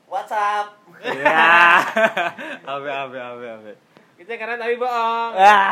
WhatsApp. Ya. Abe. Kita karena tapi bohong.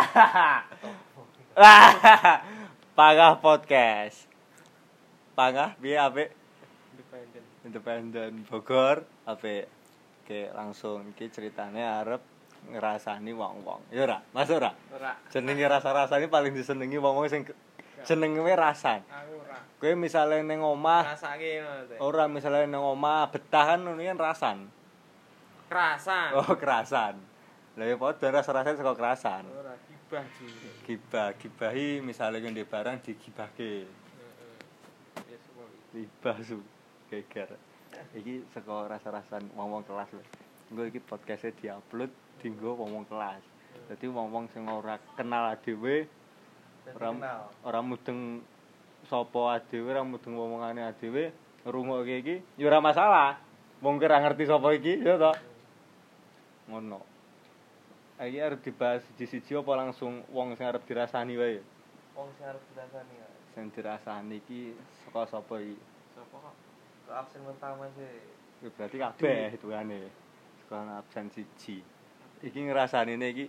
Pangah podcast. Pangah piye apik? Independen Bogor apik. Oke, langsung iki ceritane arep ngrasani wong-wong. Ya ora? Masuk ora? Ora. Jenenge rasa-rasane paling disenengi wong-wong sing jenenge rasan. Aku ora. Kowe misale ning omah Rasake ngono teh. ora misale ning omah betah kan ngono kan rasan. Kerasan. Oh, kerasan. Lah ya padha rasa-rasane saka kerasan. Ora gibah juga. Gibahi misale ngene barang digibahke. Ya semua. Gibah su geger. Iki saka rasa-rasan wong-wong kelas lho. Engko iki podcast-e diupload dienggo wong-wong kelas. Dadi wong-wong sing ora kenal dhewe ora mudeng sapa dhewe, ora mudeng omongane dhewe, ngrungokke iki ya ora masalah. Wong ora ngerti sapa iki ya to. Ngono. Iki arep dibahas siji-siji apa langsung wong sing arep dirasani wae? Wong sing arep dirasani ya. Sing dirasani iki saka sapa iki? Sopo kok? Ke absen pertama sih. Ya berarti kabeh hitungane. Saka absen siji. Iki ngrasanine iki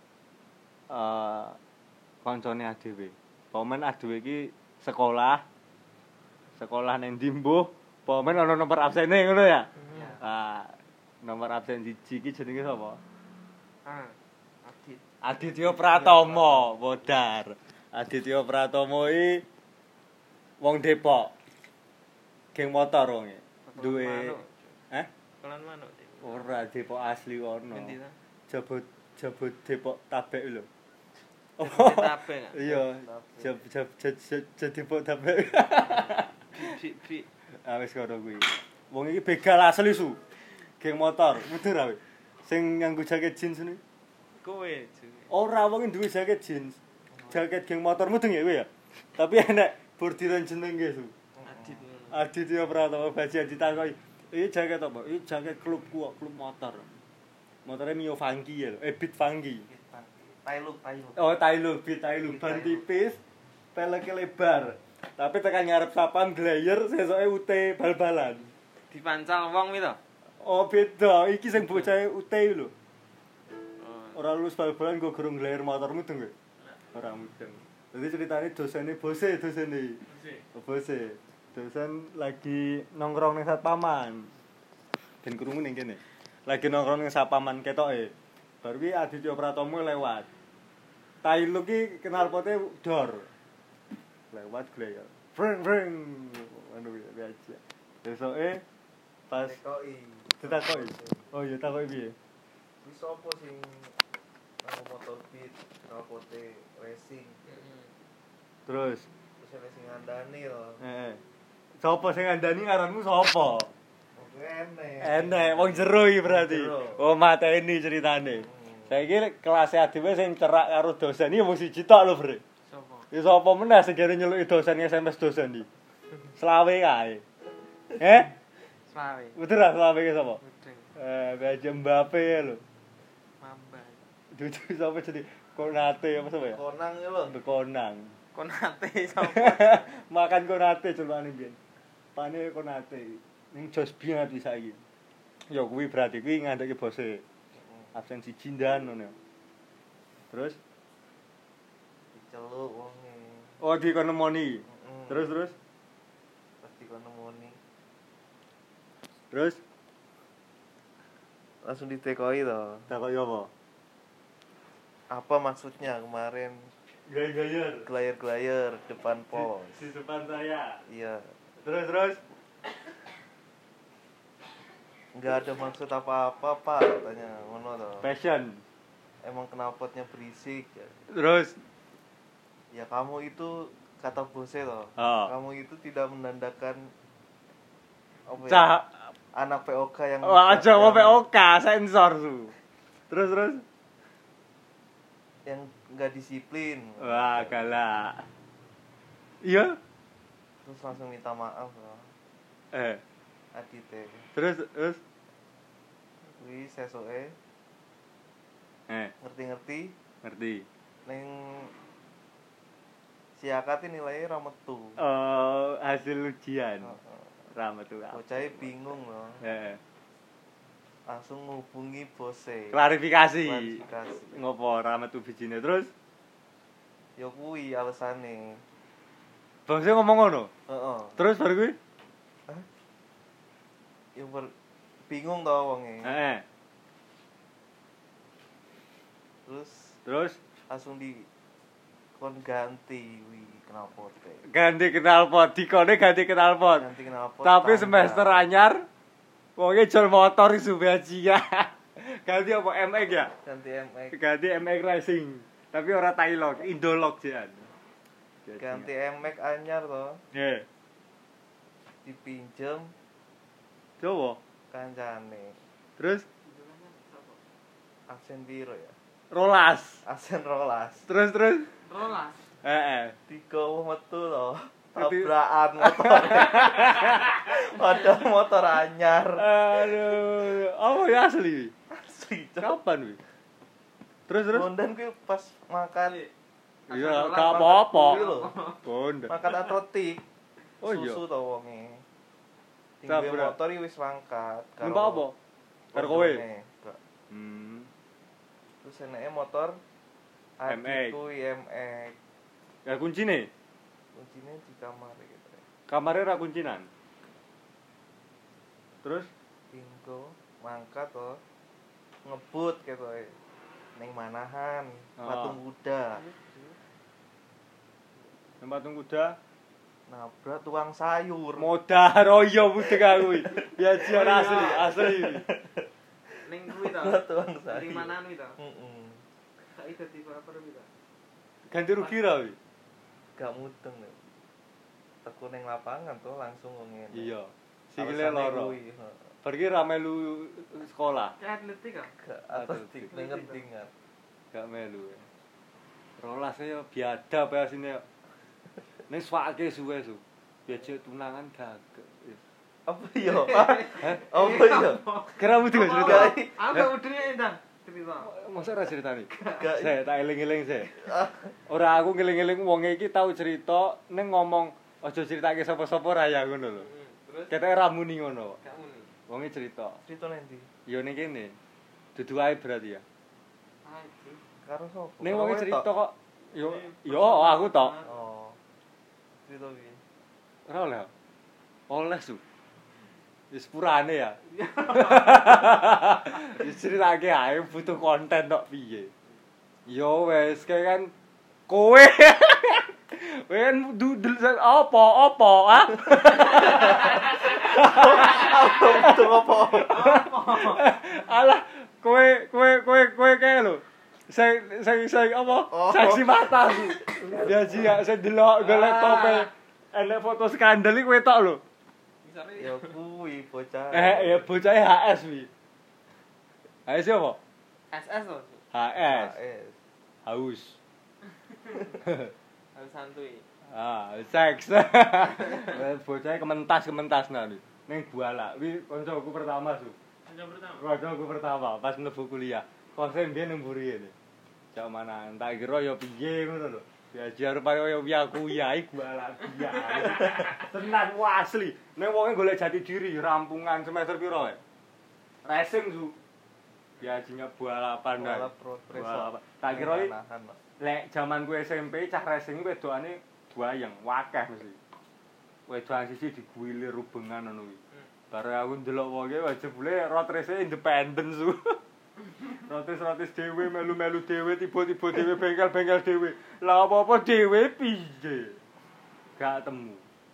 kancane dhewe. Pomen dhewe iki sekolah ning ndi mbuh, pomen ana nomor absene ngono ya. Ah, nomor absen siji iki jenenge sapa? Adit. Aditya Pratama, bodar. Aditya Pratama iki wong Depok. Geng motor wonge. Duwe Kelan manuk. ora Depok asli ono. Endi ta? Jabut Depok Tabek lho. Tabek. Iya, Depok Tabek. Bi. Ah wis ngono kuwi. Wong iki begal asli su. Geng motor, mudur ae. Sing nganggo jaket jeans niku. Kowe. Ora wong duwe jaket jeans. Jaket geng motor mudeng ya kowe ya. Tapi enek bordiran jenenge su. Adit. Aditya Pratama Baji ditakoki. Iki jaket apa? Iki jaket klubku kok, klub motor. Motornya Mio Funky ya lho. Beat Funky. Tailuk. Oh, Tailuk ban tipis, peleke lebar. Tapi tekan ngarep sapam glayer sesoke ute bal-balan. Dipancal wong iki to? Oh, beda. Iki sing bocah ute lho. Ora lulus bal-balan go gurung glayer motor mudeng kowe. Ora mudeng. Jadi ceritane dosene bose. Dosen lagi nongkrong ning satpaman. Ben krungu ning kene. Lagi nongkrong ning satpaman ketoke. Baru ki Aditya Pratama lewat. Tailuk ki knalpote dor. Lewat glayer. Breng. Anu biasa. Besoke pas ditakoki. Oh iya takoki piye? Wis opo sing nang motor beat, knalpote racing. Terus Terus sing ngandani lho. Sopo sing ngandani ngaranmu sapa? Enek. Wong jero iki berarti. Jero. Oh, mateni ceritane. Saiki kelas dhewe sing cerak karo dosen iki wong siji tok lho, Bre. Sopo? Ya sapa meneh sing kene nyeluki dosen SMS dosen iki. Selawe kae. Slawe. Betul ra selawe ki sapa? Mudeng. Baja Mbappe lho. Mambay. Dudu sapa jadi Konate apa sapa ya? Konang ya lho. Konang. Konate sopo? Makan Konate celukane biyen. Pane Konate. Ning jos banget iki saiki. Ya kuwi berarti kuwi ngandheki bose. Absen siji ndan ngono. Terus Diceluk wonge. oh dikonemoni. Terus Pas dikonemoni. Terus Langsung ditekoi to. takoki apa? Apa maksudnya kemarin Gaya-gaya. glayer-glayer depan pos? Di depan saya. Iya. Terus Enggak ada maksud apa-apa, Pak, katanya. Ngono to. passion. Emang knalpotnya berisik ya. Terus Ya kamu itu kata bose loh. Oh. Kamu itu tidak menandakan apa ya? cah Anak POK yang aja mau POK sensor su. Terus yang enggak disiplin. wah galak. Iya? Terus langsung minta maaf loh. Adite. Terus Wih, sesoke ngerti-ngerti ngerti. neng siakat nilainya ra metu. Hasil ujian. Rahmatullah. Bocahnya bingung loh. langsung ngubungi bose. Klarifikasi. Klarifikasi. Ngopo ora metu bijine terus? Ya kuwi alasane. Bangsa ngomong ngono. Heeh. Terus baru kuwi? Ya bingung to wonge. Heeh. Terus langsung kon ganti knalpot. Ganti knalpot, dikone ganti knalpot. Ganti knalpot. Tapi semester anyar wonge jol motor isu bajingan. Ganti apa MX ya? Ganti MX. Ganti MX Racing. Tapi ora Tailog, Indolog jian. Ganti MX anyar to. Nggih. Dipinjem Coba. kancane. Terus Aksen piro ya? rolas. Aksen rolas. Terus. Rolas. Heeh. Digowo metu to. Tabrakan motor. Padahal motor anyar. Aduh, apa ya asli? Asli. Kapan wi? Terus. Bondan kuwi pas makan Iya, gak apa-apa. kuwi lho. Bonda. Makan atletik. Oh iya. Susu to wonge. Tabrak. Tinggal motor iki wis mangkat. Numpak apa? Karo kowe. Enggak. Terus eneke motor MX. adikku MX. Ya kuncine. Kuncinya di kamar gitu. Kamare ra kuncinan. Terus Tingko mangkat to. Ngebut gitu. Ning manahan, Oh. patung kuda. tempat kuda Nabrak tukang sayur. modar royo budek aku kuwi. Biajian asli. Ning kuwi to. Nabrak tukang sayur. Ning manaan kuwi to. Heeh. Saiki dadi baper kuwi to. Ganti rugi ra wi. Gak mudeng lho. Teku ning lapangan tuh langsung ngene. Iya. Sikile loro. Pergi ra melu sekolah. Kayak atletik kok. Gak atletik ning ngendingan. Gak melu. Rolas ya biadab ya sini. Ning swake suwe su. Biaja tunangan gagek. Apa ya? Apa ya? Kira mesti gak cerita. Aku gak udine entar cerita. Masa ra ceritani? Gak. Saya tak eling-eling sih. Ora aku ngeling-eling wonge iki tau cerita ning ngomong aja critake sapa-sapa ra ya ngono lho. Terus Ketoke ra muni ngono. gak muni. Wonge cerita. Cerita nanti. Ya ning kene. Dudu ae berarti ya. Aduh. Karo sapa? Ning wonge Karo cerita wetok? kok. Yo aku tok. Oh. Cerita piye? Ora oleh. Oleh su. Wis purane ya. Wis ceritake ae butuh konten tok piye. Yo wes kayak kan kowe. Kowe kan dudul apa ah? Betul apa? Alah kowe kae lho. Saya apa? Oh. Saksi mata su. Biaji ya saya delok golek tope. Enek foto skandal iki kowe tok lho. Misale Ya kuwi bocah. Ya bocah HS wi. HS apa? SS to. HS. HS. Haus. Harus santuy. Seks. Bocah kementas nah. Ning Buala. Wi kancaku pertama su. Kancaku pertama pas mlebu kuliah. Kose mbiyen nang mburi ngene. Cak mana tak kira ya piye ngono lho. Diajar kaya aku ya iku Buala. Tenan asli. Ning wonge golek jati diri rampungan semester piro wae. Racing su. Biasanya balapan Balap road race. Balapan. Tak kira iki Manahan, Pak. lek jaman ku SMP cah racing wedokane buayeng, wakeh mesti. Wedokan siji diguilir rubengan ngono kuwi. Bare aku ndelok wonge jebule road race independen su. Rotis dhewe melu-melu dhewe tiba-tiba dhewe bengkel-bengkel dhewe. Lah apa-apa dhewe piye? Gak temu.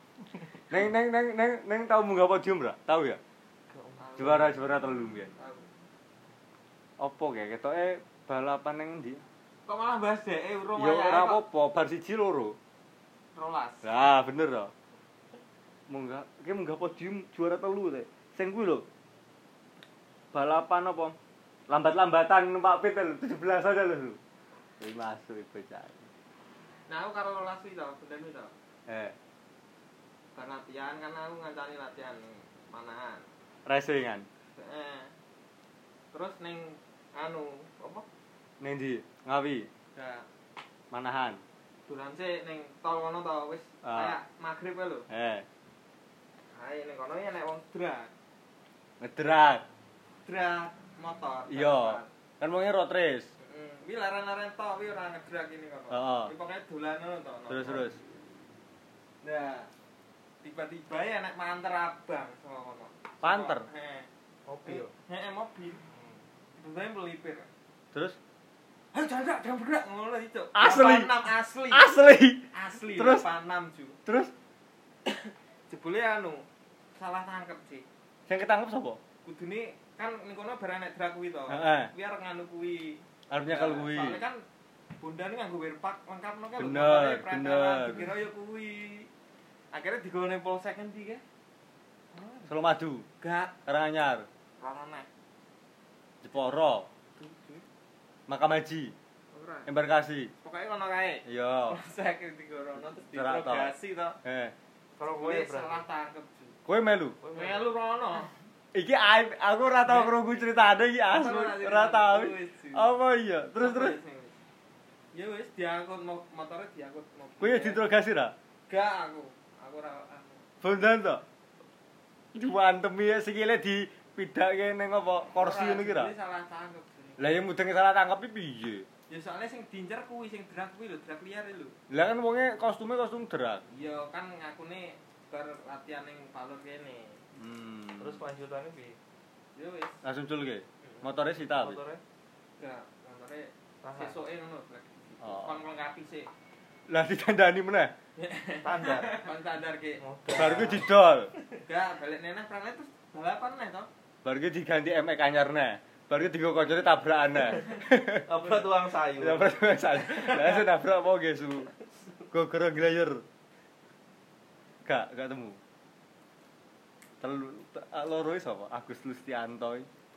Neng tau munggah podium ra? Tahu ya? Juara 3 mbiyen. Apa kayak ketoke balapan ning ndi? Kok malah bahas dhek urung Ya ora apa-apa, bar 1 loro. rolas. Lah bener to. Munggah podium juara 3 teh. Sing kuwi lho. Balapan apa? Lambat-lambatan numpak pit lho, 17 aja lho. Wis masuk bocah. Nah, aku karo rolas iki to, benden iki to. Bar latihan kan aku ngancani latihan manahan. racingan. Terus ning anu apa? Ning ndi? Ngawi. Ya, Manahan. duran sik ning tol kono to wis kayak magrib ae lho. Ae ning kono ya nek wong drag. Ngedrak. drag motor. Iya. Kan wonge road race. Wi laren-laren tok wi ora ngedrak ini kok. Heeh. Wi pokoke dolan ngono to. Terus. Nah, tiba-tiba ya nek manter abang saka kono. Panter. Heeh. Mobil. Heeh, mobil. Tiba-tiba melipir. Terus Ayo jangan bergerak ngono itu. Asli. 86 asli. Asli. Terus 86 ju. Terus Jebule anu salah tangkep sih. sing ketangkep sapa? Kudune kan ning kono barang nek drag kuwi to. Heeh. Kuwi arep nganu kuwi. Arep nyekel kuwi. Soalnya kan bondane nganggo wirpak lengkapno kan. Bener, bener. Dikira ya kuwi. Akhirnya digone polsek endi ke? Solo Madu, Gak Karanganyar, ora nek. Jeporo, Makam Haji, Ora. Embarkasi. Pokoke kono kae. Iya. Polsek digorono terus Cerak to. diinterogasi to. Kalau Kowe gue salah tangkep. Ju. Kowe melu. Melu rono. Iki aib, aku ora tau krungu critane iki asli. Ora tau. Apa iya? Terus. Ya wis diangkut motore diangkut mobil. Kowe diinterogasi ra? Gak aku. Aku ora aku. Bondan to. Diwantemi sikile dipidhake ning apa kursi ngono ki ra? Ini salah tangkep. Lah yang mudeng salah tangkep iki piye? Ya soalnya sing diincer kuwi sing drag kuwi lho, drag liar lho. Lah kan wonge kostum drag. Ya kan ngakune bar latihan ning Palur kene. terus kelanjutannya bi Ya wis. Langsung culke. Motore sita wis. motornya Gak, motore tahan sesuke ngono, drag. Oh. Kon nglengkapi sih. Lah ditandani meneh. standar Kon standar ki. Bar ku didol. Gak, balik neneh prangnya terus balapan neh to. Bar ku diganti MX anyar neh. Bar ku digo kancane tabrakan neh. apa tuang sayur Ya pertama salah. Lah saya nabrak apa guys? Gogoro glayer. Gak temu. Loro sapa? Agus Lustianto.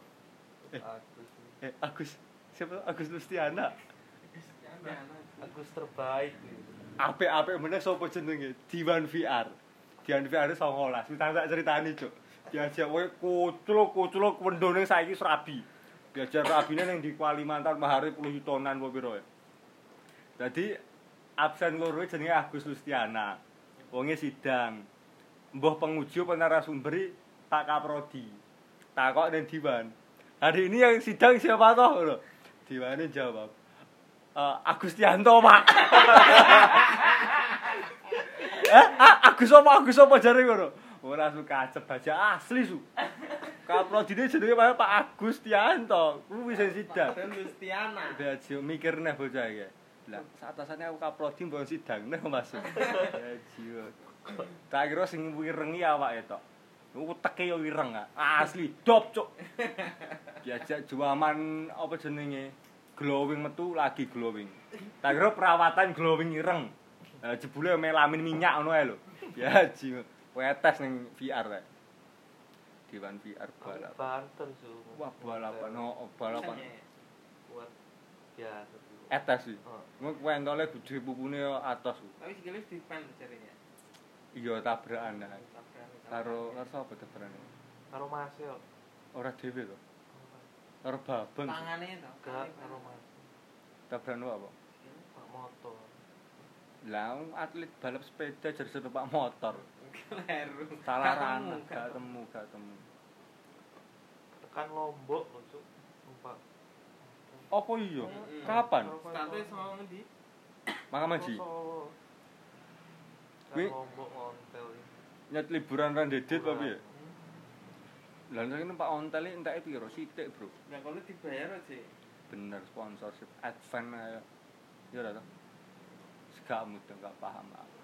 Agus. Siapa? Agus Lustiana. Agus terbaik Apik-apik meneh sapa jenenge? Diwan VR. Diwan VR 19. Wis tak critani, Cuk. Diajak kowe kucluk wendone saiki serabi. Diajar rabine ning di Kalimantan mahare 10 yutonan apa pira. Dadi absen loro jenenge Agus Lustiana. Wonge sidang. Mbah penguji apa narasumber tak kaprodi. Takok ning Diwan. Hari ini yang sidang siapa toh? Lho. Diwane jawab. Agustianto, Pak. Agus apa jare ngono? Ora suka kacep baja asli su. Kaprodine jenenge Pak Agustianto. Kuwi sing sidang. Dan Lustiana. Dadi mikir neh bocah iki. Lah, satasane aku kaprodi mbok sidang neh Mas. Ya jiwa. Tak kira sing wirengi awake tok. Uteke yo wireng asli dop, Cuk. Diajak juaman apa jenenge? Glowing metu lagi glowing. Tak kira perawatan glowing ireng. Jebule melamin minyak ngono ae lho. Ya jiwa. Wetes ning VR rek. Diwan VR balap. Banten su Wah, balapan balapan. buat ya Etes sih. Ngono kuentole gede pupune atos. Tapi sikile dipen jarene. Iya tabrakan nah. Karo sapa tabrane? karo mas yo Ora dhewe to. Karo babeng. Tangane to. gak karo mas Tabrakan apa? pak motor Lah atlet balap sepeda jadi numpak motor. Kleru. Salah ranah, gak temu. tekan Lombok lho Cuk numpak Apa iya? Kapan? Starte sama ngendi? Makam Haji. Solo. Kuwi- Kan Lombok ngontel iki. Nyet liburan ra dedet apa piye? Lah nek numpak ontel iki entake piro? Sithik, Bro. Lah kalau dibayar aja. Bener sponsorship advance ayo. Ya ora to? Gak mudeng gak paham aku.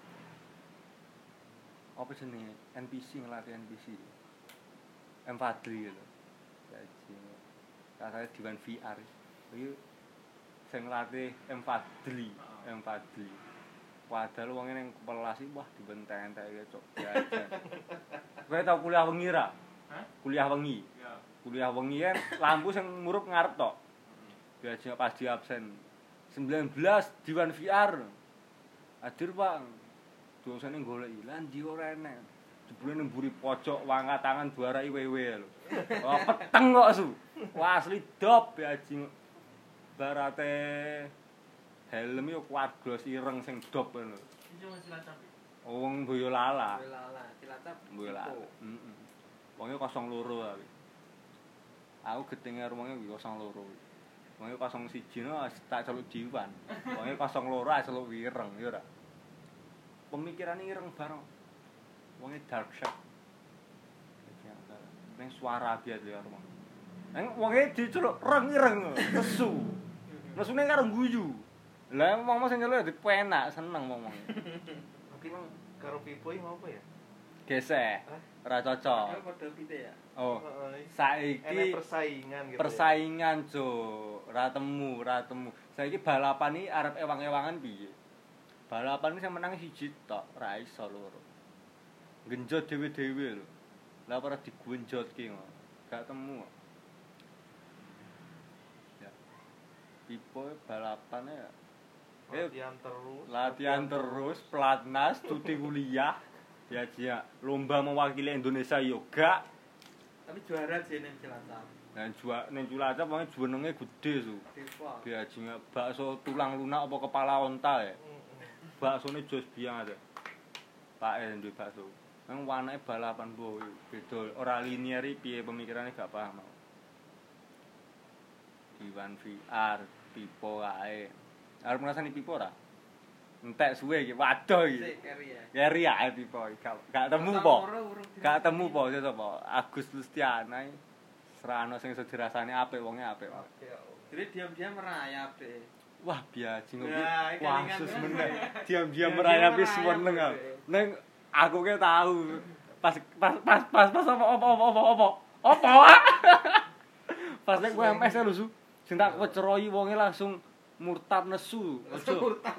Apa jenenge? NPC ngelatih NPC. M Fadli lho. Jadi katanya Diwan VR. Iki sing ngelatih M Fadli. Padahal wong ning kepelas iki wah dibentek-entek cok. Kowe tau kuliah wengi ra? Hah? Kuliah wengi. Ya. Kuliah wengi kan lampu sing murup ngarep tok. Biasanya pas di absen 19 Diwan VR. Hadir, Pak. Dosane golek lan ndi ora enek. Jebule nang mburi pojok wangkat tangan buarai wewe lho. Wah, peteng kok su. Wah, asli dop ya jing. Barate helm yo kuat glos ireng sing dop ngono. Iso Cilacap. Wong Boyolali. Boyolali, Cilacap. Boyolali. Heeh. Wonge 02 tapi. Aku gedenge rumonge 02. Wonge 01 no tak celuk diwan. Wonge 02 celuk wireng ya ora. Pemikirane ireng bareng. Wonge dark shop. Ning suara biasa ya rumong. Neng wonge diceluk reng ireng nesu. Nesune karo guyu. Lah wong sing nyeluk dipenak seneng wong. Mungkin karo Pipo iki ngopo ya? Gesek. Ora cocok. Kalau padha pite ya. Oh. Enek Saiki persaingan gitu. persaingan jo, ora temu. Saiki balapan iki arep ewang-ewangan piye? Balapan iki sing menang siji tok, ora iso loro. Genjot dhewe-dhewe lho. Lah ora digunjotke kok. Gak temu kok. Ya. Pipo balapane ya. Latihan terus, pelatnas, cuti kuliah. Ya dia lomba mewakili Indonesia yoga. Tapi juara sih ning Cilacap. Dan ning Cilacap wong jenenge gede su. Dewa. Biajinge bakso tulang lunak apa kepala onta ya. Baksone jos biang ada. Pak duwe bakso. Nang wanake balapan boy beda ora linier iki piye pemikirane gak paham aku. Iwan VR, Pipo ae. Arep ngrasani Pipo ora? Entek suwe iki. Waduh iki. Sik keri ya. Keri ae Pipo. Gak temu po. Gak temu po sapa? Agus Lustiana iki. Serano sing iso dirasani apik wonge apik. Jadi diam-diam merayap deh. Wah, biaji ngopi. Nah, iki Wah, kelingan sus tuh. meneng. Diam-diam merayap wis merayap meneng deh. aku. Neng aku ke tahu. Pas apa. Pas nek kowe MS lho su. Sing tak keceroyi wonge langsung murtad nesu. Ojo. Murtad.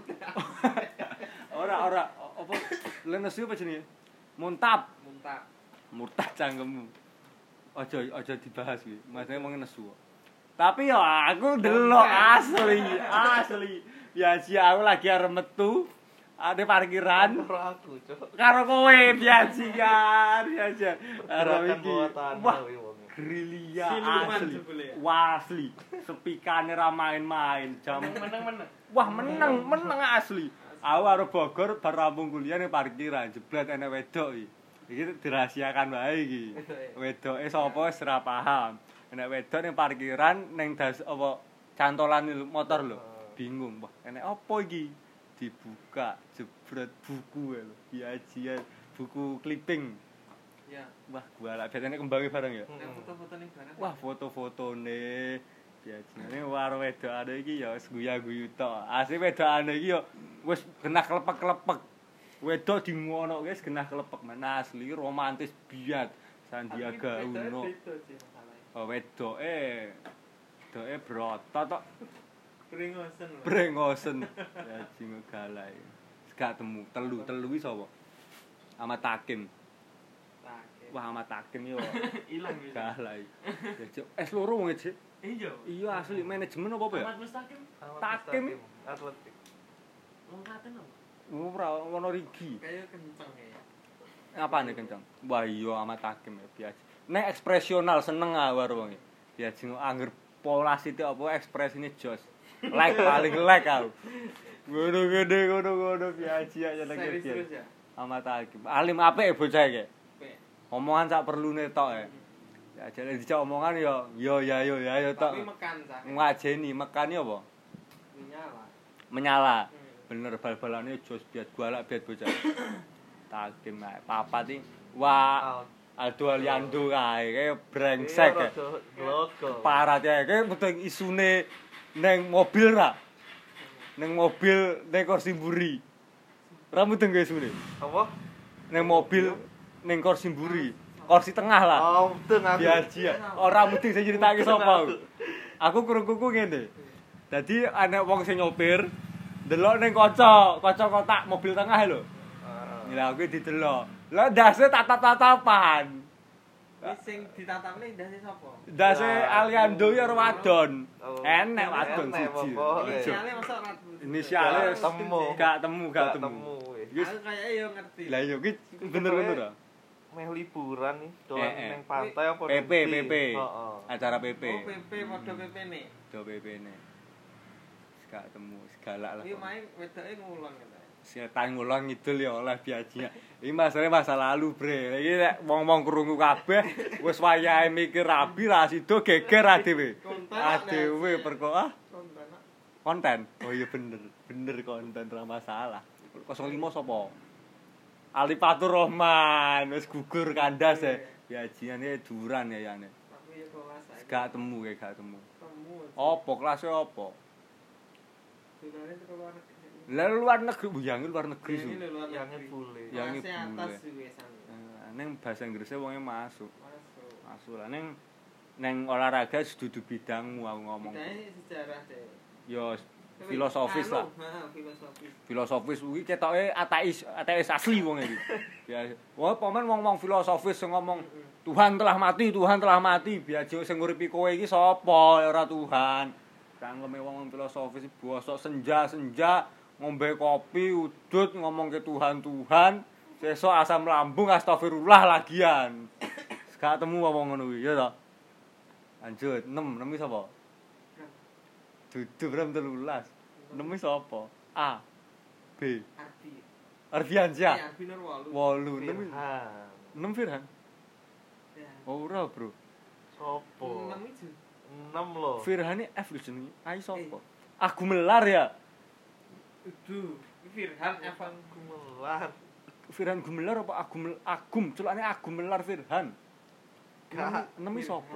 Ora apa le nesu apa jenenge? Muntap. Murtad cangkemmu. Ojo dibahas iki. Maksudnya wong nesu. Tapi ya aku delok asli. Biasa aku lagi arep metu ada parkiran karo aku, Cuk. karo kowe biasa kan. Karo iki. Wah, Grilia Siluman asli. jebule ya? Wasli. Sepikane ra main-main. Jam Meneng. wah meneng asli. Aku karo Bogor bar rampung kuliah ning parkiran jebret enek wedok iki. Iki dirahasiakan wae iki. Wedoke sapa wis ora paham. Enek wedok ning parkiran ning das apa cantolan motor lho. Bingung, wah enek apa iki? Dibuka jebret buku lho. Biajian buku clipping. Ya. Wah, gua lak biasane kembange bareng ya. Nek foto-foto ning barang. Wah, foto-fotone biasane karo wedokane iki ya wis guyu-guyu tok. Asli wedokane iki ya wis genah klepek-klepek. Wedok dingonoke wis genah klepek men asli romantis biat. Sandiaga Uno. Oh, wedoke brotot tok. Brengosen. Ya jing galai. Gak temu, telu iki sapa? Ahmad Hakim. Wah, Ahmad Hakim yo Ilang wis. galai. Ya cuk, loro wong Cik. Iya. Iya asli manajemen apa ya? Ahmad Mustaqim. Takim. atletik. Wong Klaten apa? Ora ono rigi. Kayak kenceng ya. Apane kenceng? Wah iya Ahmad Hakim ya biasa. Nek ekspresional seneng karo wong. Biasa angger pola sithik apa ekspresine jos. Like paling like aku. Ngono biasa ya nek Serius ya. Ahmad Hakim. Alim apik bocah iki. Apik. Omongan sak perlune tok ya. Ya jane dijak omongan yo tok. Tapi mekan cah. Ngajeni mekani apa? Menyala. Bener bal-balane jos biat galak biat bocah. Takim ae. Papat iki wah Aldo Aliando kae kaya brengsek. Parah ya kae mudeng isune neng mobil ra. Neng mobil ning kursi mburi. Ra mudeng guys isune. Apa? Neng mobil ning kursi mburi. Kursi tengah lah. Oh, mudeng aku. Biasa. Ora mudeng sing critake sapa. Aku krungu ngene. Dadi ana wong sing nyopir delok ning kaca kotak mobil tengah lho. Lah aku didelok. Lah ndase tatap-tatapan. Wis sing ditatapne ndase sapa? Ndase Aliando ya wadon. Enek wadon siji. Inisiale masa ora. Inisiale gak temu. Aku kayaknya yo ngerti. Lah yo iki bener-bener ah. Meh liburan nih, dolan ning pantai apa PP. Heeh. Acara PP. Oh, PP padha PP-ne. Do PP-ne. Gak temu, galak lah. Iki main wedoke ngulon kata. Setan ngulon ngidul ya oleh biajinya. Iki masa lalu, Bre. Iki nek wong-wong krungu kabeh wis wayahe mikir rabi ra sida geger adewe. Adewe perkara konten. Oh iya bener konten ra masalah. 05 sapa? Alipatur Rahman wis gugur kandas ya. Biajine duran ya yane. Tapi ya kelas Gak temu. temu. Apa kelasnya apa? Durane teko luar negeri. Lah luar negeri, yang luar negeri su. Ini luar Yang negeri. bule. Yang Kelasnya bule. atas wisan. Neng bahasa Inggrisnya wonge masuk. Masuk. Masuk lah neng olahraga dudu bidangmu aku ngomong. Bidangnya sejarah deh. Yo filosofis lah. Filosofis. Filosofis kuwi ketoke ateis asli wong iki. Ya, wong pamen wong filosofis sing ngomong Tuhan telah mati, biajo sing nguripi kowe iki sapa ora Tuhan. Cangkeme wong filosofis bosok senja ngombe kopi udut ngomong ke Tuhan, sesuk asam lambung astagfirullah lagian. Gak temu wong ngono kuwi, ya to. Lanjut, 6 sapa? Dudu berem 13. 6 sapa? A. B. Ardiansyah. Ya, Arbi Nur 8. 8. 6 Firhan. Ya. Oh, ora, Bro. Sopo? 6 itu. 6 loh. Firhan F lho jenenge. Ai sapa? Aku melar ya. Duh, Firhan Evan Gumelar. Firhan Gumelar apa Agum? Celane Agum Melar Firhan. Gak. 6 sapa?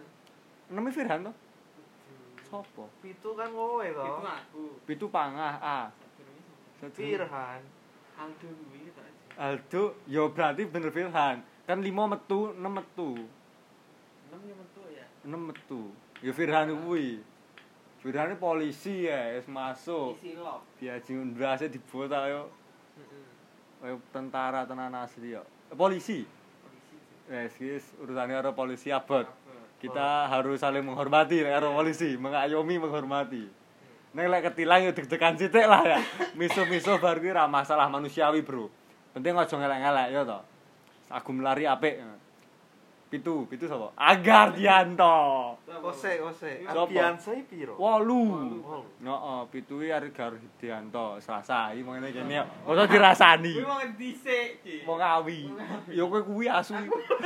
6 Firhan to? Sapa? Pitu kan kowe Itu to. aku. Pitu Pangah A. Firhan. Aldo kuwi tak. Aldo, ya berarti bener Firhan. Kan 5 metu, 6 metu. 6 ya metu ya. 6 metu. Ya Firhan kuwi. Firhan polisi ya, wis masuk. Isi log. Diaji ndrase dibota yo. Heeh. Kayak tentara tenan asli yo. Polisi. Polisi. Wis urusane karo polisi abot. Kita harus saling menghormati karo polisi, mengayomi menghormati. Nek lek ketilang yo deg-degan sithik lah ya. Miso-miso bar kuwi ra masalah manusiawi, Bro. Penting aja ngelek-ngelek yo to. Aku melari apik. Pitu sapa? Agardianto. Ose. Sopo? Ardiansai piro? 8. Heeh, pitu iki Agardianto. Selasa iki mengene kene. Ora dirasani. Kuwi wong dhisik iki. Wong awi. Ya kowe kuwi asu.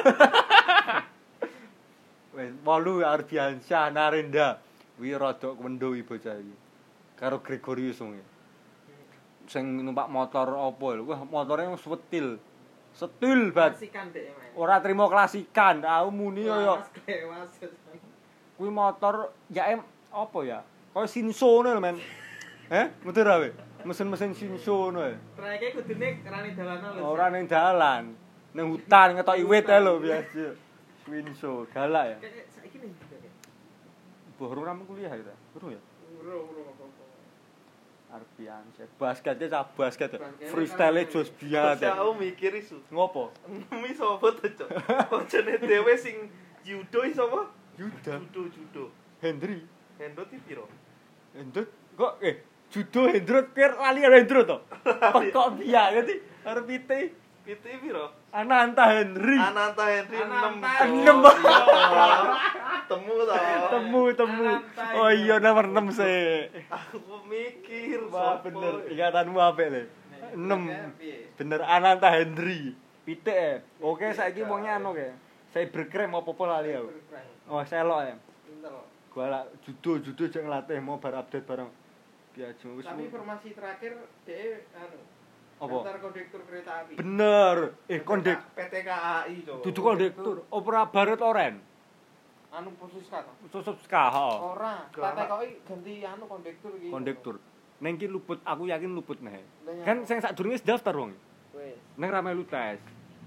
Wes 8 Ardiansyah Narenda. Kuwi rada kendo iki bocah iki. Karo Gregorius wong. Sing numpak motor apa lho. Wah, motore setil. Setil banget. Klasikan dek men. Ora trimo klasikan, aku muni yo. Kuwi motor ya apa ya? Kaya Shinso ngono lho, men. Motor awe. Mesin-mesin Shinso ngono. Trayeke kudune rane dalanan lho. Ora ning dalan, ning hutan ngetoki wit ae lho biasa. Shinso, galak ya. Kayak saiki ning Baru ramu kuliah ya ta? Urung ya? Uro apa-apa. Ardiansyah. Basketnya cah basket. Freestyle Jos Biat. Aku mikir isu. Ngopo? Nemi sapa to, Cok? Koncone dhewe sing judo iso apa? Yuda. Judo. Hendri. Hendo ti piro? Hendrot kok judo Hendrot pier lali karo Hendrot to. Kok biya ngerti arep pite. Piti piro? Ananta Henry. Ananta Henry 6. Ananta. 6. Temu to. Temu. Oh iya nomor 6 sih. Aku mikir Wah sopo. bener, ingatanmu apik le. 6. Bener Ananta Henry. Pitik. Oke saiki wongnya anu ke. Cybercrime apa-apa lali aku. Oh, selok ya. Pinter. Gua lak judo jek nglatih mau bar update bareng. Biajo wis. Tapi informasi terakhir dhek anu Apa? daftar kondektur kereta api. Bener. Kondek PT KAI to. dudu kondektur. Opera Barat Oren. Anu posisi kata. Susut ska, heeh. Ora, tak tekoki ganti anu kondektur iki. Kondektur. Neng ki luput, aku yakin luput neh. Lah, Kan sing sadurunge wis daftar wong. wis. Neng ra melu tes.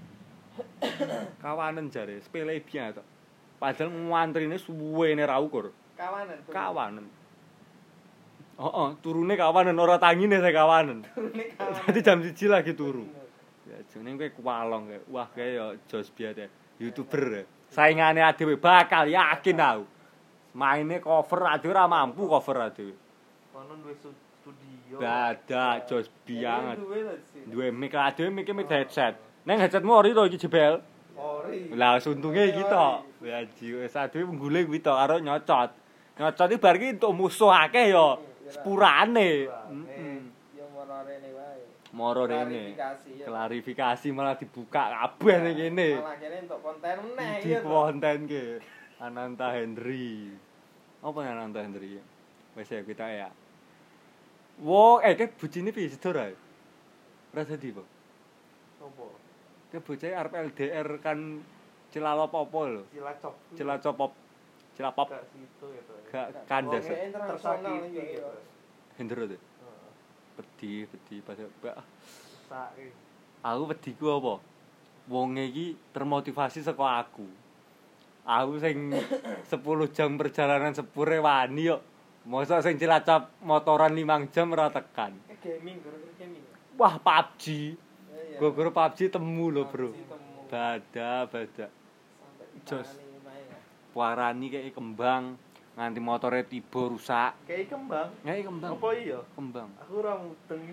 Kawanen jare, sepele biyen to. Padahal ngantrine suwene ra ukur. Kawanan. Kawanen. Heeh, turune kawanen ora tangine saya kawanen. Turune kawanan. Dadi jam 1 lagi turu. Ya jeneng kowe kuwalong kae. Wah kae ya Jos Biat ya. YouTuber ya. Saingane adewe bakal yakin aku. Maine cover adewe ora mampu cover adewe. Kono duwe studio. Dadak Jos Biat. Duwe lho sih. Duwe mic adewe mic headset. Neng headsetmu ori to iki jebel. Ori. Lah suntunge iki to. Ya jiwe adewe nggule kuwi to karo nyocot. Nyocot iki bar iki entuk musuh akeh ya. Sepurane. Ya mororene wae. Moro rene. Klarifikasi ya. Klarifikasi malah dibuka kabeh ning kene. Malah kene untuk konten meneh Di ya. konten ke Ananta Henry. Apa Ananta Henry? Wis ya kita ya. Wo, ke bojine piye sedor ae? Ora dadi po. Sopo? Ke bocah arep LDR kan Cilalop apa lho? Cilacap. Cilacopop. Cilapop. Gak situ gitu. Gak kandas. Wong internasional Tersakiti iki. gitu. Hendro tuh. Heeh. Pedih pas Sae. aku wedi ku apa? Wonge iki termotivasi saka aku. Aku sing 10 jam perjalanan sepure wani kok. Mosok sing Cilacap motoran 5 jam ora tekan. Gaming, gara-gara gaming. Wah, PUBG. Iya. Gara-gara PUBG temu lho, Bro. PUBG temu. Bada. Sampai Jos. ditangani lumayan ya. Warani kayak kembang nganti motore tiba rusak. Kayak kembang. Kayak kembang. Apa iya? Kembang. Aku ora mudeng.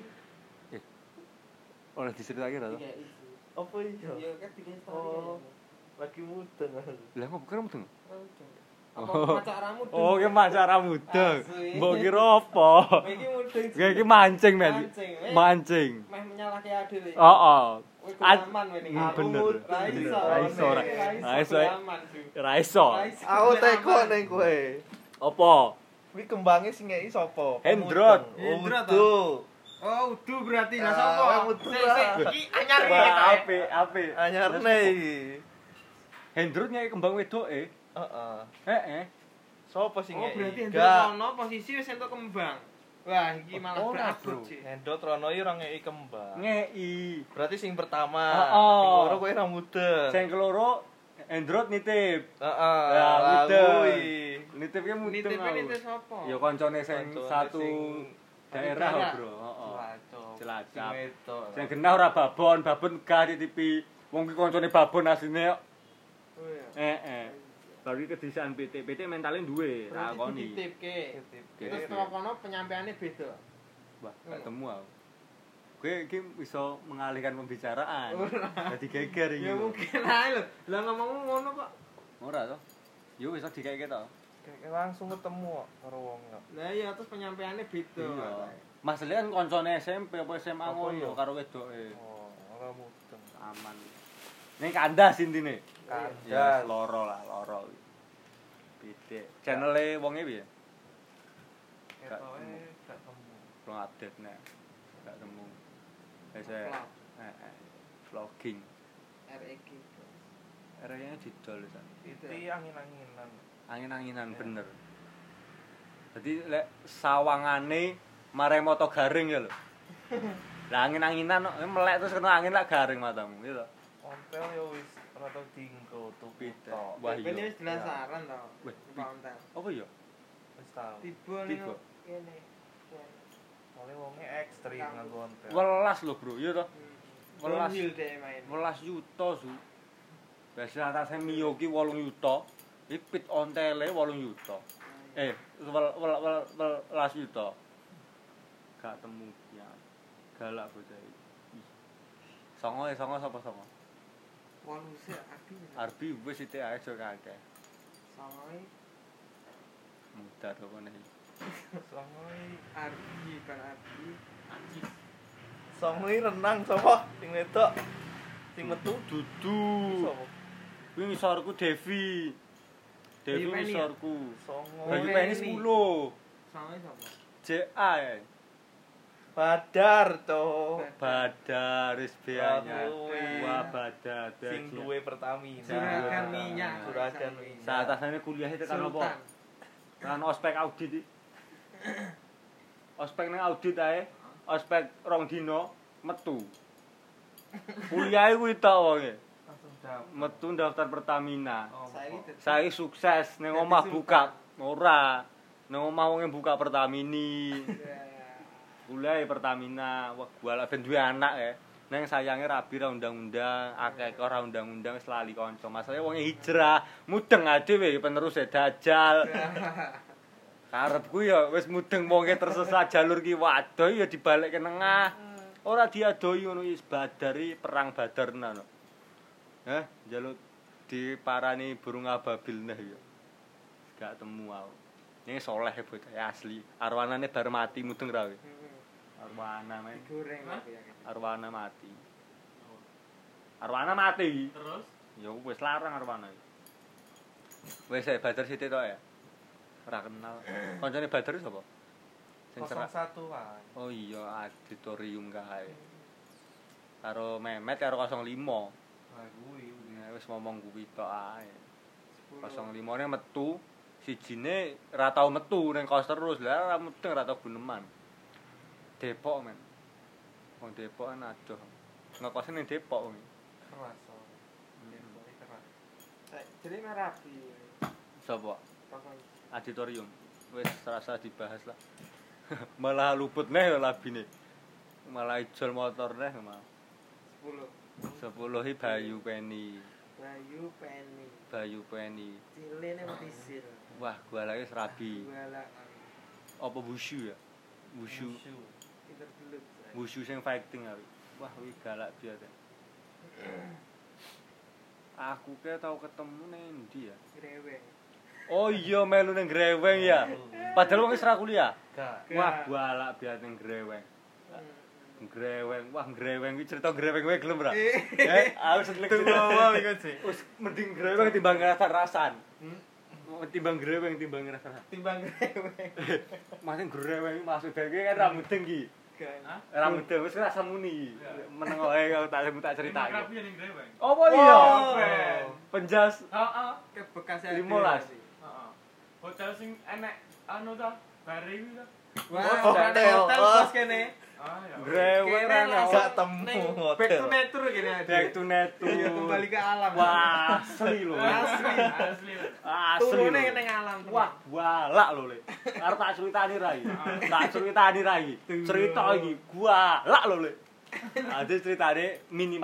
Oleh diceritake ra to? Tiga isu. Apa iya? Iya kan tiga story. Oh. Lagi mudeng aku. Lah kok kira mudeng? Apa macaramu? Oh, ki macara mudeng. Asli. Mbok kira apa? Iki mudeng. Kayak iki mancing, men. Mancing, eh. Mancing. Meh menyalahke adil iki. Heeh. Kowe kulaman wene iki. Bener. Ra iso. Ra iso, ra. Ra iso. Kulaman, Su. Ra iso. Ra iso. Aku teko ning kowe. Apa? Kuwi kembange sing ngeki sapa? Hendrot. Hendrot, Udu. Oh, udu berarti. Lah Ah, sapa? udu Sik, lah. sik, iki anyar iki. Wah, apik. Anyarne iki. Hendrut nyai kembang wedoke. Heeh. Heeh. Sopo sing Oh, ngeki? berarti Gak. Hendro ono posisi wis entuk kembang. Wah, iki malah Ora, berabot Bro. sih. Hendrot Rono iki ora ngeki kembang. Ngei. Berarti sing pertama. Heeh. Sing loro kowe ora mudeng. Sing keloro Hendrut nitip. Heeh. Ya, lah mudeng. kuwi. Nitipnya mudeng. Nitip aku. nitip sapa? Ya koncone sing Koncone satu sing daerah, daerah. Bro. Heeh. Cilacap. Cilacap. Sing wedok. Sing genah ora babon gak ditipi. Wong ki koncone babon asline kok. Oh iya. Heeh. Baru kedisian PT mentale duwe, Berarti takoni. dititipke. Dititipke. Terus kalau kono penyampaiannya beda. Wah, gak temu aku. Gue iki bisa mengalihkan pembicaraan. Dadi geger iki. Ya mungkin ae lho. Lah ngomongmu ngono kok. Ora to. Yo wis dikeke to. Kayak langsung ketemu kok karo wong kok. Lah iya terus penyampaiannya beda. Iya. Masalahnya kan koncone SMP apa SMA Apa ngono iya? karo wedoke. Oh, ora mudeng. Aman. Ning kandas intine. Kandas. Ya loro lah, loro. Pitik. Channel-e wonge piye? Gak Ketoke temu. gak temu. Belum update nek. Gak temu. Wis Vlog. vlogging. REG. Area didol sak. Itu angin-anginan. Angin-anginan Ya. bener. Jadi lek sawangane mare moto garing ya lho. Lah angin-anginan kok melek terus kena angin lak garing matamu gitu. Ontel ya wis ora tau dinggo tuku Pitik. tok. Wah, iya. Ini wis dinasaran to. Wih, Konten. Apa ya? Wis tau. Tiba ning Tiba. kene. Soale wonge ekstrim nganggo ontel. Welas lho, Bro. Iya to. Welas. Downhill deh main. 11 juta su. Biasa atase Mio ki 8 juta. Iki pit ontele 8 juta. 11 juta. Gak temu ya. Galak bocah iki. Songo sapa songo? Walu sih Arbi. Arbi wis sithik ae aja kakek. Sawai Mudar kok ngene. Songoi, Arbi kan Arbi. songoi renang sapa? Sing wedok. Sing metu Dudu. sapa? Kuwi ngisorku Devi. Devi Bayu Penny ya? ngisorku. Songoi. Bayu Penny. Penny 10. Sawai sapa? JA ya. Badar to. Badar SBA-nya. Kuwi. Wah, Badar. Sing duwe Pertamina. Juragan minyak. Juragan minyak. Saat atasane kuliah itu kan apa? Sultan. Kan ospek audit iki. Ospek nang audit ae. Ospek rong dino metu. Kuliah kuwi tok wonge. Langsung dapet. Metu daftar Pertamina. Oh, Saiki kok. Saya sukses ning omah buka ora. Ning omah wonge buka Pertamini. Kuliah Pertamina, wah gua lah ben duwe anak ya. Neng sayange rabi ra undang-undang, akeh ora undang-undang wis lali kanca. Masalahe wong hijrah, mudeng dhewe penerus Dajjal. Karepku ya wis mudeng wonge tersesat jalur ki waduh ya dibalik ke nengah. Ora diadoi ngono wis badari perang badarna no. Njaluk diparani burung ababil nah ya. Gak temu aku. Ini soleh bocah asli. Arwanane bar mati mudeng ra kowe. Arwana men. Digoreng Hah? tapi ya. Arwana mati. Arwana mati. Terus Ya wis larang Arwana. Wis Badar Siti tok ya. Ora kenal. Kancane Badar sapa? Sing serak. 01 kan. Oh iya, auditorium kae. Karo Memet karo 05. Nah, kuwi. Nah, wis ngomong kuwi tok ae. 10. 05 ne metu, sijine ora tau metu ning kos terus. Lah ora mudeng ora tau guneman. Depok men. Wong Depok kan adoh. Ngekose ning Depok kuwi. Keras. Depok keras. Jadi Merapi. Sapa? Pasal Auditorium. Wis serasa dibahas lah. Malah luput neh labine. Malah ijol motor neh malah. 10. 10 Bayu Penny. Bayu Penny. Cilene metisir. Wah, gua lagi serabi. Wala Apa wushu ya? Wushu. pinter gelut. Wushu sing fighting aku. Wah, kuwi galak biasa. Aku ke tau ketemu ning endi ya? Greweng. Oh iya melu ning Greweng ya. Padahal wong wis ra kuliah. Gak. Wah, galak biasa ning Greweng. Greweng, wah Greweng iki cerita Greweng kowe gelem ora? Aku seneng Wow iku sih. Wis mending Greweng timbang rasan-rasan. Timbang Greweng timbang rasan. Timbang greweng. Masing Greweng maksud iki kan ra mudeng iki. Hah? Ra mudeng wis rasa muni. Meneng wae aku tak critake. Rapi ning Greweng. Apa iya? Ben. Penjas Heeh. Ke bekas 15. Heeh. Hotel sing enek anu ta? Bare iki ta? Wah, Hotel. hotel bos kene. Ah ya. Greweng Kene ra Gak temu Back to hotel. nature gini aja. back to netu. Iya, kembali ke alam. Wah, asli lho. Asli. Asli. Asli. Turune lho. ning alam. Wah, walak lho, Le. Arep tak critani rai. Tak critani rai. Cerita iki walak lho, Le. Ade ceritane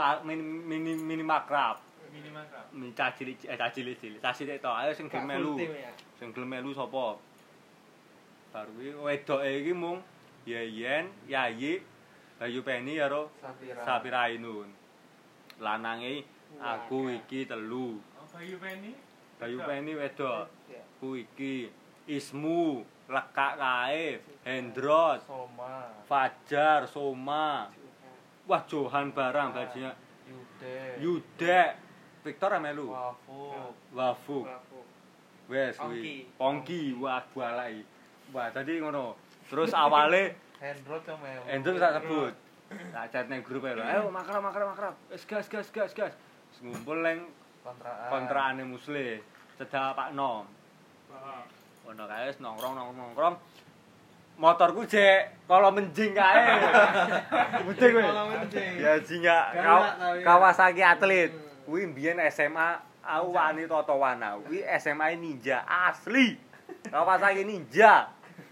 mini makrab. Minimal krap. Cilik. Cilik tok. Ayo sing gelem melu. Ya. Sing gelem melu sapa? Baru iki wedoke iki mung Yeyen, Yayi, Bayu Penny karo Sapira Ainun. Lanange aku iki telu. Oh, Bayu Penny. Bayu Penny wedok. Ku iki Ismu, lekak kae, Hendrot, Soma. Fajar, Soma. Wah, Johan barang bajunya. Yudek, Victor melu. Wafu. Wes kuwi. Pongki, wah balai. Wah, tadi ngono. Terus awale Hendrot yang melu. Hendrot tak sebut. Tak chat ning grup ae lho. Ayo makrab. Wis gas. Ngumpul ning Kontraan. kontraane Musle. Cedak Pakno. Heeh. Ono kae wis nongkrong. Motorku jek kala menjing kae. Mudeng kowe. Kala menjing. Ya jinga Galak tapi ya. Kawasaki atlet. Kuwi mbiyen SMA aku wani totowan aku. Kuwi SMA Ninja asli. Kawasaki Ninja.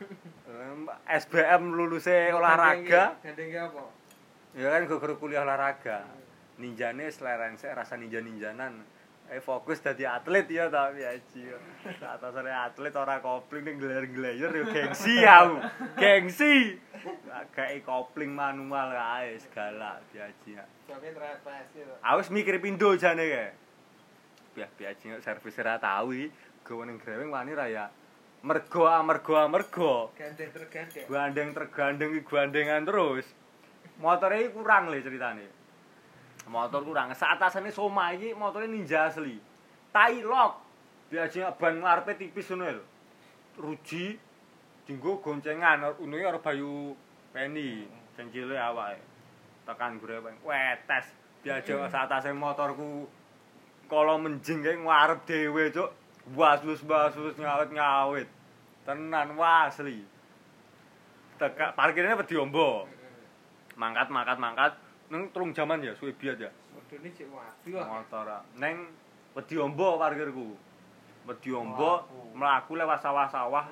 SBM luluse olahraga. Gandeng apa? Ya kan guru kuliah olahraga. Ninjane slerensek rasa ninja-ninjanan. Fokus dadi atlet ya ta piaji. Atasane atlet ora kopling ning gler-gler yo gengsi aku. Gengsi. Gawe kopling manual kae segala piaji. Soalnya terapes gitu. Aku wis mikir pindho jane kae. Piaji servis ora tau iki gowo ning Greweng wani ra ya. Mergo. Gandeng tergandeng. Gandeng iki gandengan terus. Motore iki kurang le ceritane. Motor kurang. Saatasane Soma iki motore Ninja asli. Tailok. Biasanya ban ngarepe tipis ngono lho. Ruji dienggo goncengan unune karo Bayu Penny. Sing cilik awake. Tekan Greweng. Wetes. Biasa saatase motorku kala menjing kae ngarep dhewe, Cuk. Wasus ngawit. Tenan asli. Tekak parkirnya wedi ombo. Mangkat. Neng telung jaman ya suwe biat ya. Modone cek waduh. Motor. Neng wedi ombo parkirku. Wedi ombo mlaku lewat sawah-sawah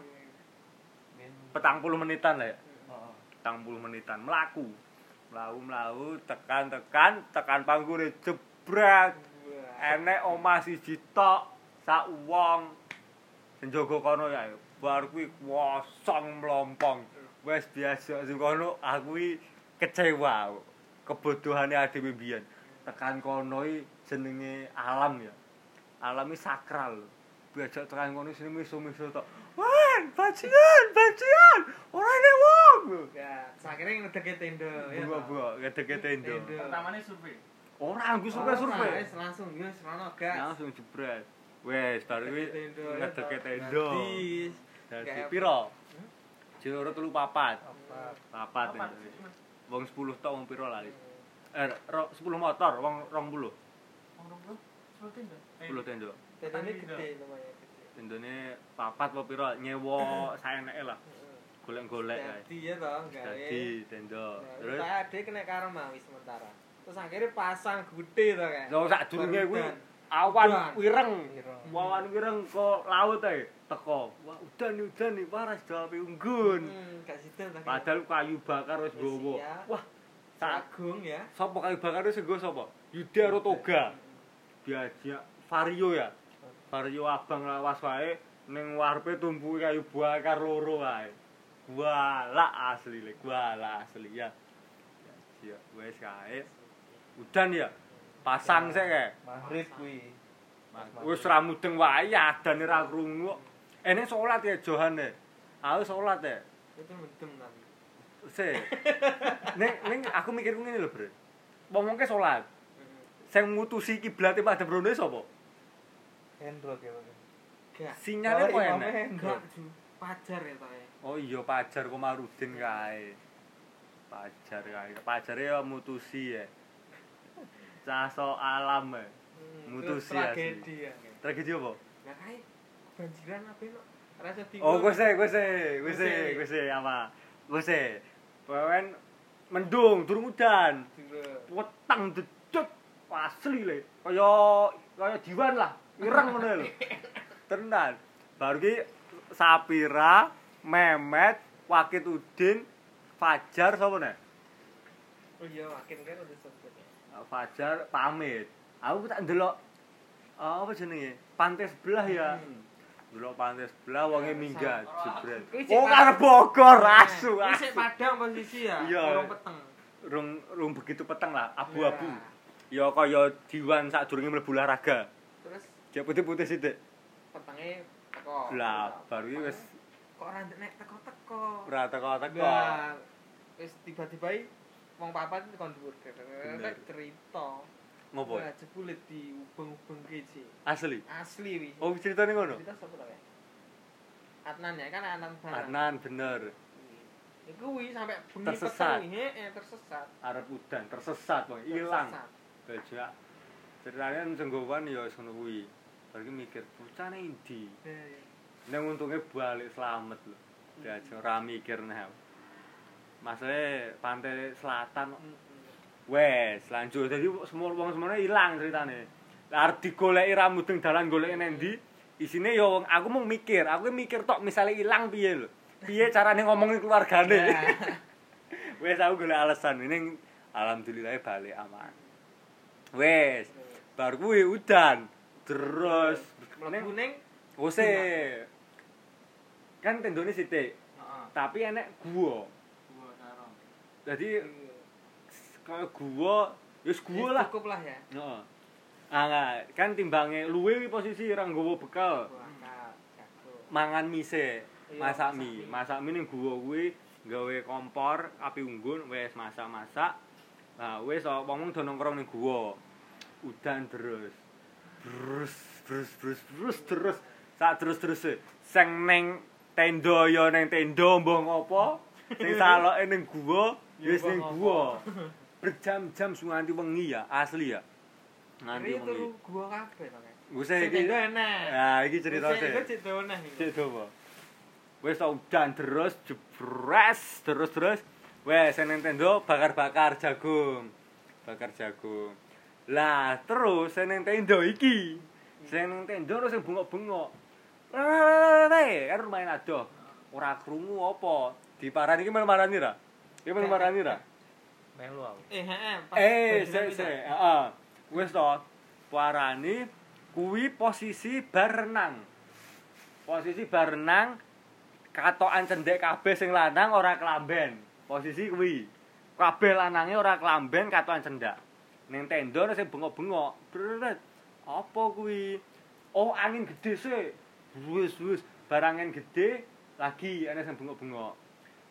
40 menitan lah ya. 40 menitan mlaku. Mlaku tekan panggure jebret. Enek omah siji tok. Sak wong sing jaga kono ya bar kuwi kosong mlompong wis biasa sing kono aku iki kecewa kebodohane adewe mbiyen tekan kono iki jenenge alam ya alam iki sakral biasa tekan kono sing miso-miso tok wan bajingan ora ene wong Enggak, sakire ngedeke tenda ya. Bunga-bunga ngedeke tenda. Pertamane survei. Ora aku survei. Wis langsung wis rono gas. Langsung jebret. Wes, baru kuwi ngedeke tenda. Dadi Dadi piro? Jero 3 papat. Papat. Papat. Wong 10 tok wong piro lali. 10 motor, wong 20. Wong 10 tenda. 10 tenda. tendane gede lumayan gede. Tendane papat apa piro nyewa saeneke lah. Golek-golek kae. Dadi ya toh, gawe. Dadi tenda. Terus Terus ade kena karo mawi sementara. Terus akhirnya pasang gede to kan. yo sak durunge kuwi Udan. awan Udan. wireng. Awan wireng kok laut ae teko. Wah, udan nih waras jape unggun. Gak situ ta. Padahal kayu bakar wis gowo. Iya. Wah, sak Agung ya. sapa kayu bakar wis nggo sapa? Yuda karo Toga. Diajak Vario ya. Vario abang lawas wae ning warepe tumpuke kayu bakar loro wae. Guala asli ya. Ya wis kae. Udan ya. Pasang sik kae. Maghrib kuwi. Wis ra mudeng wae adane ra krungu. Ene salat ya johane. Aku salat ya. Itu mendem tapi. Se. Ning aku mikirku ngene lho, Bro. Wong-wong ke salat. Sing mutusi kiblate Pak Debrone sapa? Hendro ya. Gak. Sinyale kok enak. Enggak, Pajar ya toh ya. Oh iya Pajar Komarudin kae. Pajar kae. Pajare ya mutusi ya. Caso alam ya. Mutusi Terus asli. tragedi ya. Tragedi apa? Lah kae banjiran apa no? Rasa tinggal. Oh, gue se apa? Gue se. Pawen mendung, durung udan. Wetang dedut asli le. Kaya diwan lah, ireng ngono lho. Tenan. Baru ki Sapira, Memet, Wakit Udin, Fajar sapa nek? Oh iya, makin kan udah sebut ya. Fajar pamit. Aku tak ndelok apa jenenge? Pantai sebelah ya. Ndelok pantai sebelah wonge minggat jebret. Oh, karep Bogor asu. Ini sik padang posisi ya. Iya. Orang peteng. Rung begitu peteng lah, abu-abu. Ya kaya diwan sadurunge mlebu olahraga. Terus Dia putih-putih sithik. petenge teko. Lah, baru iki wis kok ora nek teko-teko. ora teko-teko. Lah, wis tiba-tiba wong papat kon dhuwur Bener. cerita. Ngopo? Wah, jebule di ubeng-ubeng kece. Asli. Asli wi. Oh, ceritane ngono. Cerita sapa ta ya? Adnan ya kan Adnan Barang. Adnan bener. Iku wi sampe bengi Tersesat. peteng heeh tersesat. Arep udan, tersesat wong, ilang. Tersesat. Bajak. Ceritane senggowan ya wis ngono kuwi. Bar iki mikir, bocah ning ndi? Nang untunge balik slamet lho. Diajak ora mikir neh. Masalahe pantai selatan wes lanjut. Dadi semua wong semono ilang ceritane. Lah arep digoleki ra mudeng dalan goleki nang ndi? Isine ya wong aku mung mikir, aku mikir tok misale ilang piye lho. Piye carane ngomongi keluargane. Wes aku golek alasan ning alhamdulillah balik aman. Wes bar kuwi udan terus Mlebu ning ose kan tendone sithik Heeh. tapi enek gua. Gua sarong. Jadi kaya gua wis gua lah. Cukup lah ya. Heeh. Ah, kan timbange luwe kuwi posisi ra nggawa bekal. Berangkat, jago. Mangan mise, Iya, masak masak mie. mie. Masak mie ning gua kuwi gawe kompor, api unggun, wis masak-masak. Nah, wis wong do nongkrong ning gua. Udan terus. Terus. Sak terus-terus. Sing ning tenda ya ning tenda mbah ngopo. Sing saloke ning gua, wis ning gua. Berjam-jam nganti wengi ya, asli ya. Nganti Ini wengi. turu gua kabeh to kan. Wis Sing iki. tenda enak. Nah, iki cerita Sing sih. iku cek donah iki. Cek dopo. Wis udan terus jebres terus. Wes nang tenda bakar-bakar jagung. Lah terus nang tenda iki. Sing nang tenda terus sing bengok-bengok. Kan lumayan adoh. Ora krungu apa. Diparani iki marani ra? Iki marani ra? Melu aku. Heeh. Wis to. Parani kuwi posisi bar renang. Posisi bar renang katokan cendek kabeh sing lanang ora kelamben. Posisi kuwi. Kabeh lanange ora kelamben katokan cendak. Ning tenda sing bengok-bengok. Bret. Apa kuwi? Oh, angin gede sih. Wis. Barang angin gede lagi ana sing bengok-bengok.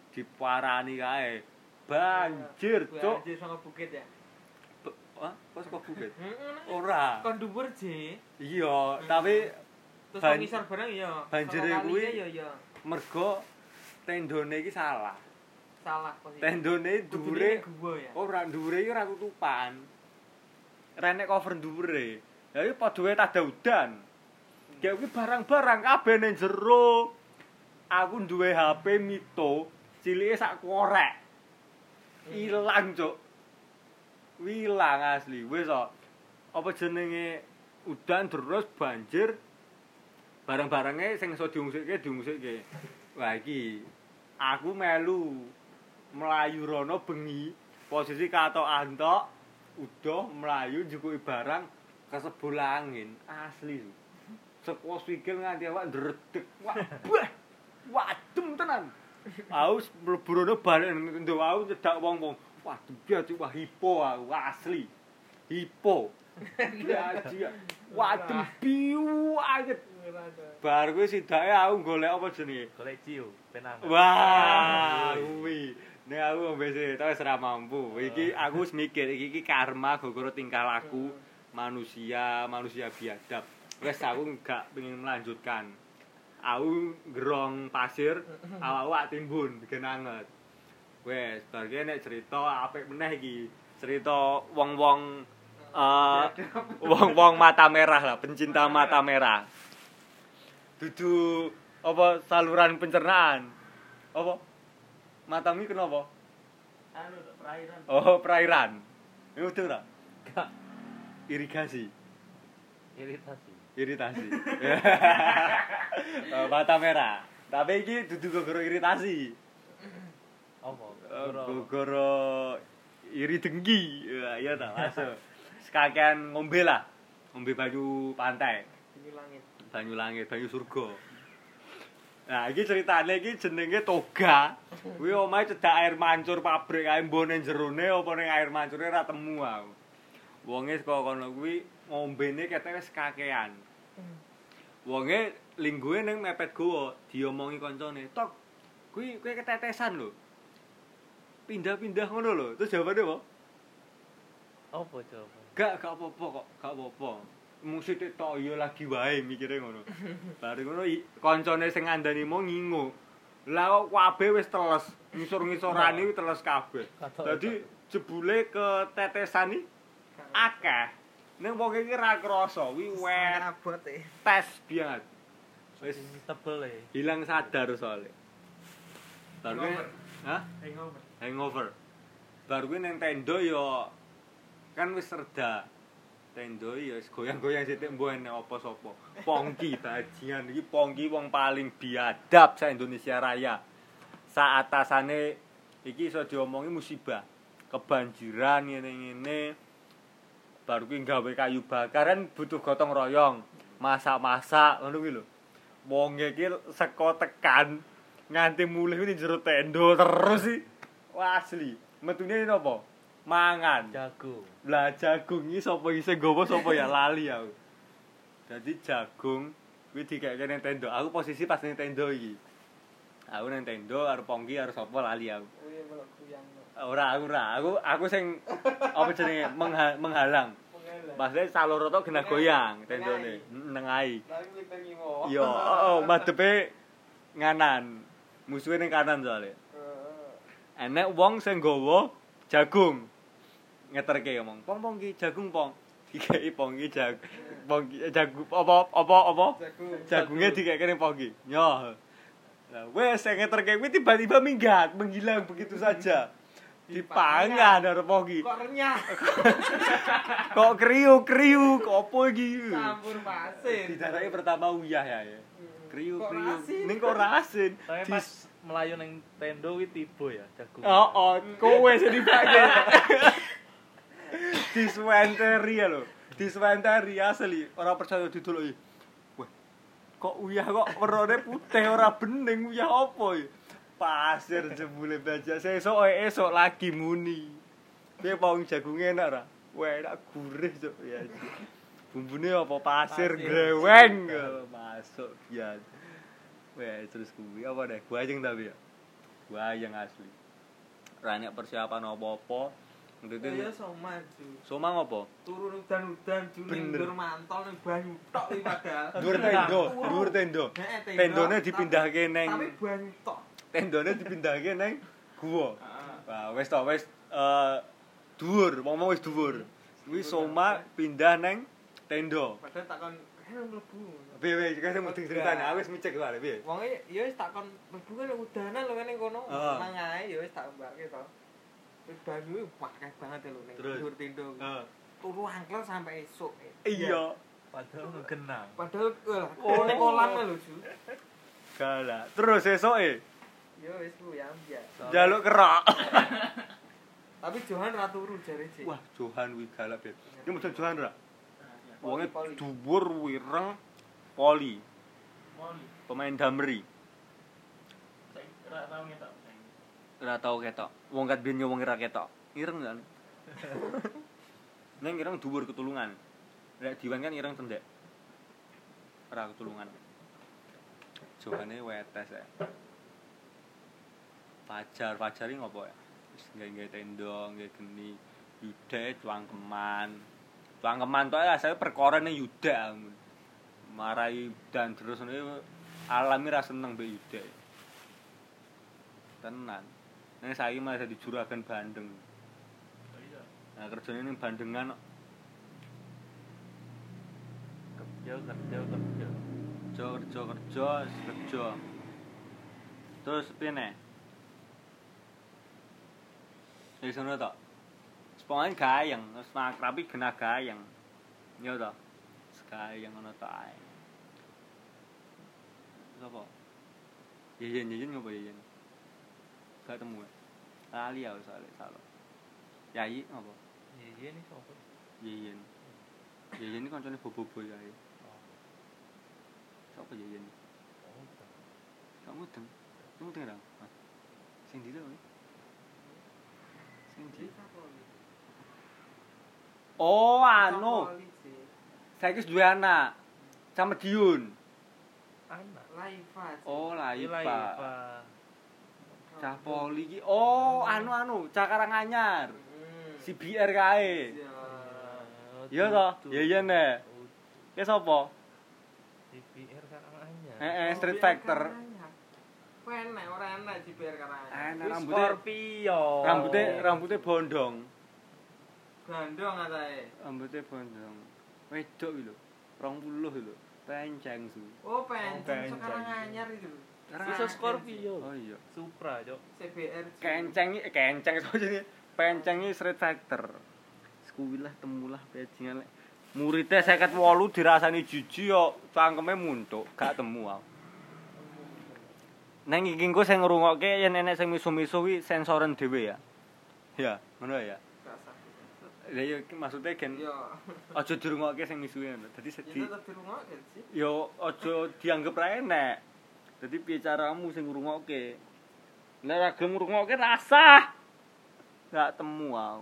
diparani kae. Banjir, Cuk. Banjir sama bukit ya. Hah? Kok saka bukit? Heeh. Ora. Kon dhuwur je. Iya, tapi Terus Ban- kon ngisor bareng ya. banjire Saka kuwi- kaline ya mergo tendone iki salah. salah posisi. Tendone dhuwure gua ya. ora dhuwure iki ora tutupan. Renek cover dhuwure. Lah iki padha wae tada udan. Kayak kuwi barang-barang kabeh ning jero. Aku duwe HP Mito, cilike sak korek. Ilang, Cuk. Wilang asli. Wis kok. Apa jenenge udan terus banjir. Barang-barangnya sing iso diungsikke. Wah iki aku melu melayu rono bengi, posisi katokan tok, udah melayu njukuki barang kesebul angin. Asli. Seko sikil nganti awak ndredeg. Wah, bah. Wadem tenan. Aku mlebu rono balik ndok aku cedak wong-wong. Wah, dadi wah hipo aku asli. Hipo. Ya, wadem biu anget. Bar kuwi sidake aku golek apa jenenge? Golek ciu, penang. Wah, kuwi. Nek aku wis wis ora mampu. Iki aku wis mikir iki karma gara-gara tingkah laku manusia biadab. Wes aku gak pengen melanjutkan. Aku gerong pasir, awak timbun bikin anget. Wes, bar ki nek cerita apik meneh iki. Cerita wong-wong wong-wong mata merah lah, pencinta mata merah. Dudu apa saluran pencernaan. Apa? Matamu iki kenapa? Anu perairan. Oh, perairan. Ini udah ora? Gak Irigasi. iritasi. Mata merah. Tapi iki dudu gara iritasi. Apa? Gara iri dengki. Iya ta, masuk. Sekakean ngombe lah. Ngombe banyu pantai, Ini langit. banyu langit, banyu surga. Nah, iki ceritane iki jenenge toga. Kuwi omahe cedak air mancur pabrik kae mbone jerone apa ning air mancure ora temu aku. Wonge saka kono kuwi ngombene ketek wis kakean. Wonge lingguhe ning mepet gowo, diomongi kancane, "Tok, kuwi ketetesan lho." Pindah-pindah ngono lho. Terus jawabane apa? Apa coba? Gak apa-apa kok, gak apa-apa. Musik tok ya lagi wae mikire ngono. Bari ngono kancane sing ngandani mau ngingu. Lah kok kabeh wis teles, ngisor-ngisorane wis teles kabeh. Dadi jebule ketetesan iki akeh. Ning wong iki ra krasa, wi wet Abot e. tes biat. Wis Tebel e. hilang sadar soalnya. Baru kuwi, hah? Hangover. Baru kuwi ning tenda ya kan wis reda. Tenda ya wis goyang-goyang sithik mbuh enek apa sapa. Pongki bajingan iki Pongki wong paling biadab sa Indonesia Raya. Sa atasane iki iso diomongi musibah. Kebanjiran ngene-ngene. Baru kuwi gawe kayu bakaran butuh gotong royong. Masak-masak ngono kuwi lho. Wong iki seko tekan nganti mulih ning jero tenda terus sih. Wah asli. Metune napa? Mangan. Jagung. Lah jagung iki sapa iki sing nggawa sapa ya lali aku. Dadi jagung kuwi dikeke ning tenda. Aku posisi pas ning tenda iki. Aku ning tenda karo Pongki karo sapa lali aku. Oh iya melok kuyang. Ora. Aku sing apa jenenge menghalang. Maksudnya saloro tok genah goyang tendone. Nengai. Lagi mlipir ngiwo. Iya, madepe nganan. Musuhe ning kanan soalnya. Enek wong sing nggawa jagung. Ngeterke ngomong, "Pong ki jagung, Pong." Dikeki Pong ki jagung apa? Jagunge dikeki ning Pong ki. Nyoh. Lah wes sing ngeterke kuwi tiba-tiba minggat, menghilang begitu saja. Dipangan karo Pong ki. Kok renyah? Kok kriuk-kriuk, opo iki? Campur pasir. Didarake pertama uyah ya. Kok Kriuk-kriuk. asin? Ning kok ora asin. Tapi pas melayu ning tenda kuwi tiba ya jagung. Oh, kowe sing dibake. Diswenteri ya lho. Diswenteri asli. Ora percaya didoloki. Wah. Kok uyah kok werone putih ora bening uyah apa ya? Pasir jebule baja. Esuk lagi muni. Piye pawang jagunge enak ora? Wah, enak gurih cuk ya. Bumbune apa pasir greweng masuk ya. Wah, terus kuwi apa deh? Gua ajeng tapi ya. Wayang asli. Ora nek persiapan apa-apa. Ya Soma Ju. Soma ngopo? Turun udan-udan Ju ning Bener. ndur mantol ning banyu tok iki padahal. Dhuwur tendo. Heeh, Tendone dipindahke tapi neng banyu tok. tendone dipindahke neng guwa. Heeh. Wah, wis to wis dhuwur, wong wis dhuwur. Kuwi Soma pindah neng tenda. Padahal takon mlebu. Piye kaya mudeng ceritane, aku wis micek wae piye. Wonge ya wis takon mlebu kan udanan lho ning kono. Heeh. Nang ae ya wis tak mbake to. Wis banyu akeh banget lho ning Terus? dhuwur tenda. Heeh. Turu angkel sampai esuk. Iya. Padahal ngegenang. Padahal ning kolam lho Ju. Galak. Terus esoke Ya wis ku ya biasa. njaluk kerak. Tapi Johan ra turu jare Cik. Wah, Johan wi galak, Beb. Iki mesti Johan ra? Wonge Poli. dhuwur wireng poli, Moli. pemain Damri. Ra tau ngetok. Ora tau ketok. Wong kat biyen wong ora ketok. Ireng kan. Neng ireng dhuwur ketulungan. Nek diwan kan ireng cendek. Ora ketulungan. Johane wetes ya. Fajar iki ngopo ya? Wis nggae tenda, nggae geni, yuda cuangkeman. Cuangkeman tok ya saya perkara ning yuda. Marai dan terus ngene alami ra seneng mbek yuda. Tenan. Nek saiki malah dadi juragan Bandeng. Oh iya. Nah, kerjane ning Bandengan kok. kerja. Terus piye nek? Wis ngono to. Sepongane gayeng, wis makrapi genah gayeng. Ya to. Gayeng ngono to ae. Sopo? Yeyen ngopo yeyen? Gak temu. Lali aku soalnya salah. Yayi ngopo? Iya nih sopo. Yeyen. Yeyen iki kancane bobo-bobo ya. Sopo Yeyen? Oh. Kamu mudeng. Kamu mudeng ra? Sing ndi to? Sing ndi? Oh, anu. Saiki wis duwe anak. Sama Diun. Anak. Laifa. Oh, Laifa. Laifa. Cah poli iki. Oh, anu, Cah Karanganyar. Si BR kae. Iya to? Yeyen nek. Ki sapa? CPR Karanganyar. Street Factor. Enak, ora enak JBR Karanganyar. Enak Wis rambutnya. Scorpio. Rambutnya bondong. Gandong atae. Rambutnya bondong. Wedok iki lho. 20 lho. Penceng su. Oh, penceng Penceng. sekarang anyar itu. Bisa Scorpio. Oh iya. Supra, Cok. CBR. Kenceng iso jenenge. Penceng iki Street Factor. Kuwilah temulah bajingan lek. Muridé 58 dirasani jiji yo cangkeme muntuk, gak temu aku. Neng iki engko sing ngrungokke yen enek sing misu-misu kuwi sensoren dhewe ya. Ya, ngono ya. Lah ya maksudnya gen Yo. aja dirungokke sing misuhe ngono. Dadi sedih. Tetep dirungokke sih. Yo aja dianggep ra enek. Dadi piye caramu sing ngrungokke? Nek ra gelem ngrungokke rasah. Gak temu aku.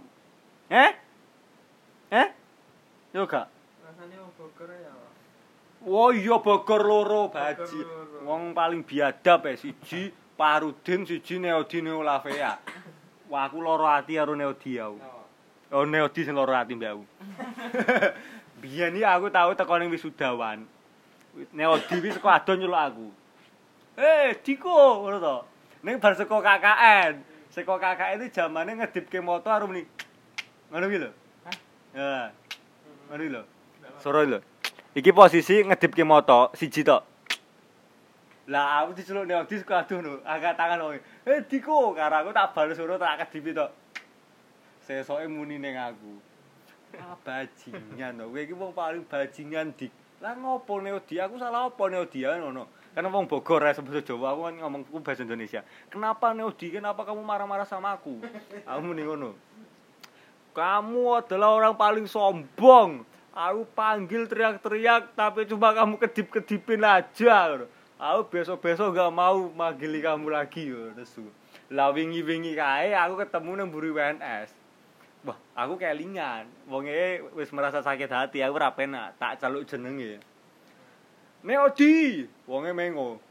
Yo gak. Rasane wong Bogor ya. Oh iya Bogor loro baji. Bogor loro. Wong paling biadab siji Parudin, siji Neodi Neolafea. Wah aku loro ati karo Neodi aku. Oh Neodi sing loro ati mbak aku. Biyen iki aku tau teko ning wisudawan. Neodi wis saka ado nyeluk aku. Diko ngono to. Ning bar saka KKN. Saka KKN iki jamane ngedipke moto karo muni. Ngono kuwi lho. Ya. Ngono lho. Soro lho. Iki posisi ngedipke moto siji tok. Lah aku diceluk Neodi saka ado lho. Angkat tangan wong. Diko karo aku tak bales soro tak kedipi tok. Sesoke muni ning aku. Bajingan to. Kowe iki wong paling bajingan dik. Lah ngopo Neodi? Aku salah apa Neodi ya ngono. Karena wong Bogor ya bahasa Jawa aku kan ngomongku bahasa Indonesia. Kenapa Neodi? Kenapa kamu marah-marah sama aku? Aku muni ngono. Kamu adalah orang paling sombong. Aku panggil teriak-teriak tapi cuma kamu kedip-kedipin aja. Aku besok-besok gak mau manggili kamu lagi. Lah wingi-wingi kae aku ketemu nang mburi WNS. Wah, aku kelingan. Wonge wis merasa sakit hati, aku ora penak, tak celuk jenenge. Neodi, wonge mengo.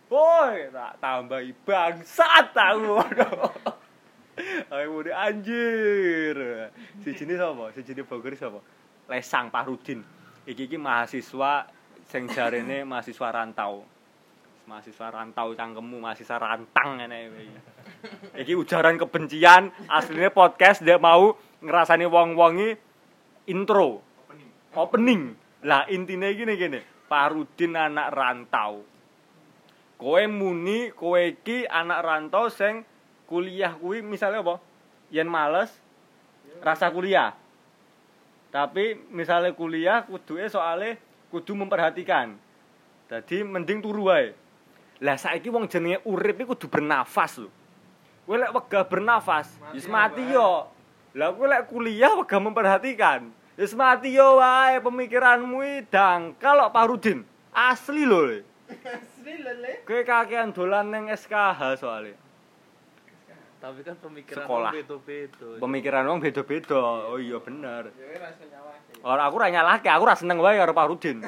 Woi, tak tambahi bangsat tahu. Ayo muni anjir. Sijine sapa? Sijine Bogor sapa? Lesang Parudin. Iki mahasiswa sing jarene mahasiswa rantau. Mahasiswa rantau cangkemmu, mahasiswa rantang ngene iki. Iki ujaran kebencian, asline podcast dia mau ngrasani wong-wongi intro. Opening. Lah intine iki ngene. Parudin anak rantau. Kowe muni kowe iki anak rantau sing kuliah kuwi misalnya apa? Yen males rasa kuliah. Tapi misalnya kuliah kuduke soalnya kudu memperhatikan. Dadi mending turu wae. Lah saiki wong jenenge urip iki kudu bernafas lho. Kowe lek wegah bernafas, wis mati yo. Lah kowe lek kuliah wegah memperhatikan, wis mati yo wae pemikiranmu iki dangkal kok Parudin. Asli lho. Asli lele. Kowe kakean dolan ning SKH soalnya. Tapi kan pemikiran Sekolah. beda-beda. Pemikiran wong beda-beda. Oh iya bener. Ya wis rasa nyawake. Ora aku ora nyalahke, aku ora seneng wae karo Parudin.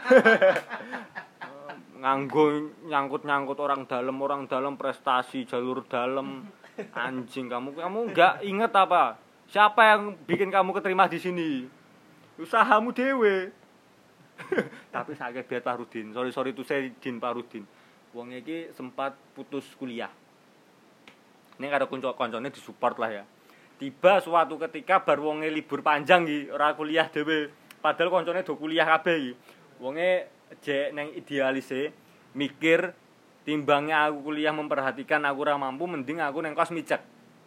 Nganggo nyangkut-nyangkut orang dalam prestasi jalur dalam. Anjing kamu enggak inget apa? Siapa yang bikin kamu keterima di sini? Usahamu dewe. Tapi sakit biar Parudin. Sorry itu saya Din Parudin. Wong iki sempat putus kuliah. Ini karo kanca-kancane disupport lah ya. Tiba suatu ketika bar wonge libur panjang iki, ora kuliah dhewe. Padahal kancane do kuliah kabeh iki. Wonge jek nang idealise mikir timbangnya aku kuliah memperhatikan aku ora mampu mending aku nang kos mijek.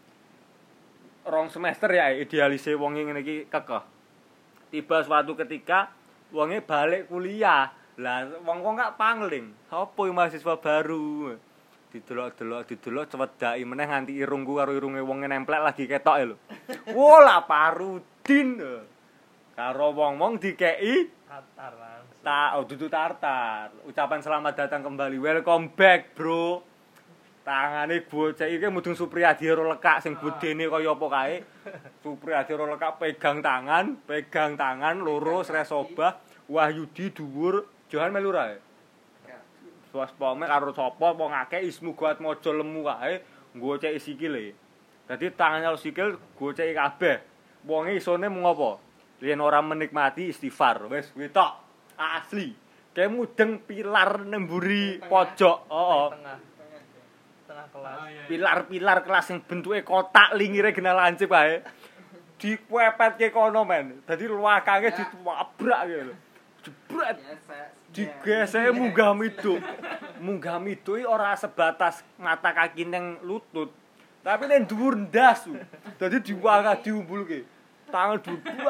2 semester ya idealise wonge ngene iki kekeh. Tiba suatu ketika wonge balik kuliah. Lah wong-wong gak pangling. Sopo mahasiswa baru? Didelok cewedaki meneh nganti irungku karo irunge wong nemplek lagi ketoke lho. Wola Parudin. Karo wong-wong dikeki Tatar langsung. dudu tartar. Ucapan selamat datang kembali. Welcome back, bro. Tangane bocah iki mudeng Supriyadi ora lekak sing budene kaya apa kae. Supriyadi ora lekak pegang tangan loro sresobah. Wahyudi dhuwur, Johan melu ra. Suwaspome karo sapa wong akeh ismu guat mojo lemu kae ngoceki sikile. Dadi tangannya sikil goceki kabeh. Wonge isone mung apa? Yen ora menikmati istighfar. Wis kuwi tok. Asli. Kayak mudeng pilar nemburi pojok. Heeh. Tengah kelas. Pilar-pilar kelas sing bentuke kotak lingire gena lancip kae. Dikwepetke kono men. Dadi luakange ditwabrak gitu lho. Jebret. Digesek munggah miduk. Munggah miduk iki ora sebatas mata kaki ning lutut, tapi ning dhuwur ndas. Dadi diwangah diumbulke. Tangan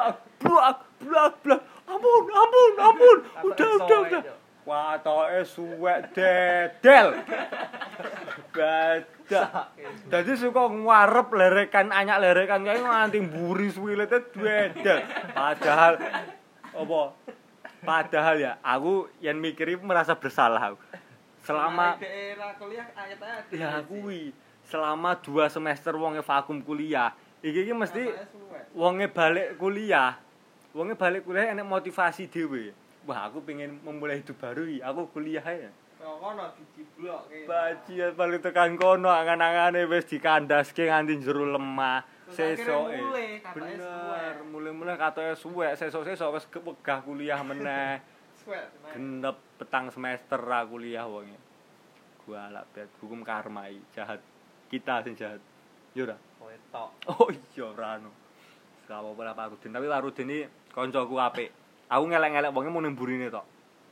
blak. Ampun. Udah. Watoke suwek dedel. Badak. Dadi suka ngarep lerekan kae nganti mburi suwilete dedel. Padahal ya, aku yang mikir merasa bersalah aku. Selama daerah kuliah ayat-ayat. ya kuwi, selama 2 semester wonge vakum kuliah, iki mesti wonge balik kuliah enek motivasi dhewe. Wah, aku pengen memulai hidup baru iki. Aku kuliah ae. Kono diciblokke. Bajian balik tekan kono angan-angane wis dikandaske nganti jero lemah. Sesoke. Bener, mulai katoke suwek, sesuk-sesuk wis wegah kuliah meneh. Suwek. Genep petang semester ra kuliah wonge. Gua alak bet hukum karma iki jahat. Kita sing jahat. Yo ora. Kowe tok. Oh iya ora ono. Sawo ora Parudin, tapi Parudin iki kancaku apik. Aku ngelek-ngelek wonge mun nemburine tok.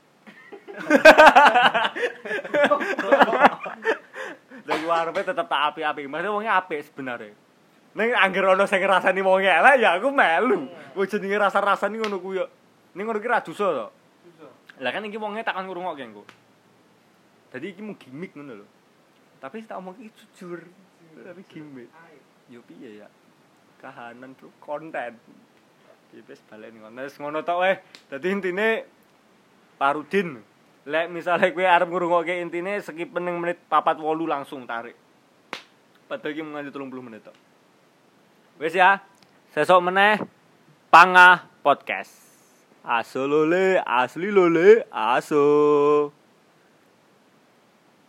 Lah arepe tetep tak apik-apik. Maksudnya wonge apik sebenarnya. Ning angger ana sing ngrasani wong elek ya aku melu. Wis jenenge rasa-rasani ngono ku yo. Ning ngono ki ra dosa to. Lah kan iki wonge takon ngrungokke engko. Dadi iki mung gimmick ngono lho. Tapi tak omong iki jujur. Tapi gimmick. Yo piye ya? Kahanan bro, konten. Iki wis balen ngono. Wis ngono tok wae. Dadi intine Parudin. Lek misale kowe arep ngrungokke intine skip ning menit 4-8 langsung tarik. Padahal iki mung 30 menit tok. Wis ya, sesuk meneh Pangah Podcast. Aso lole, asli lole, aso.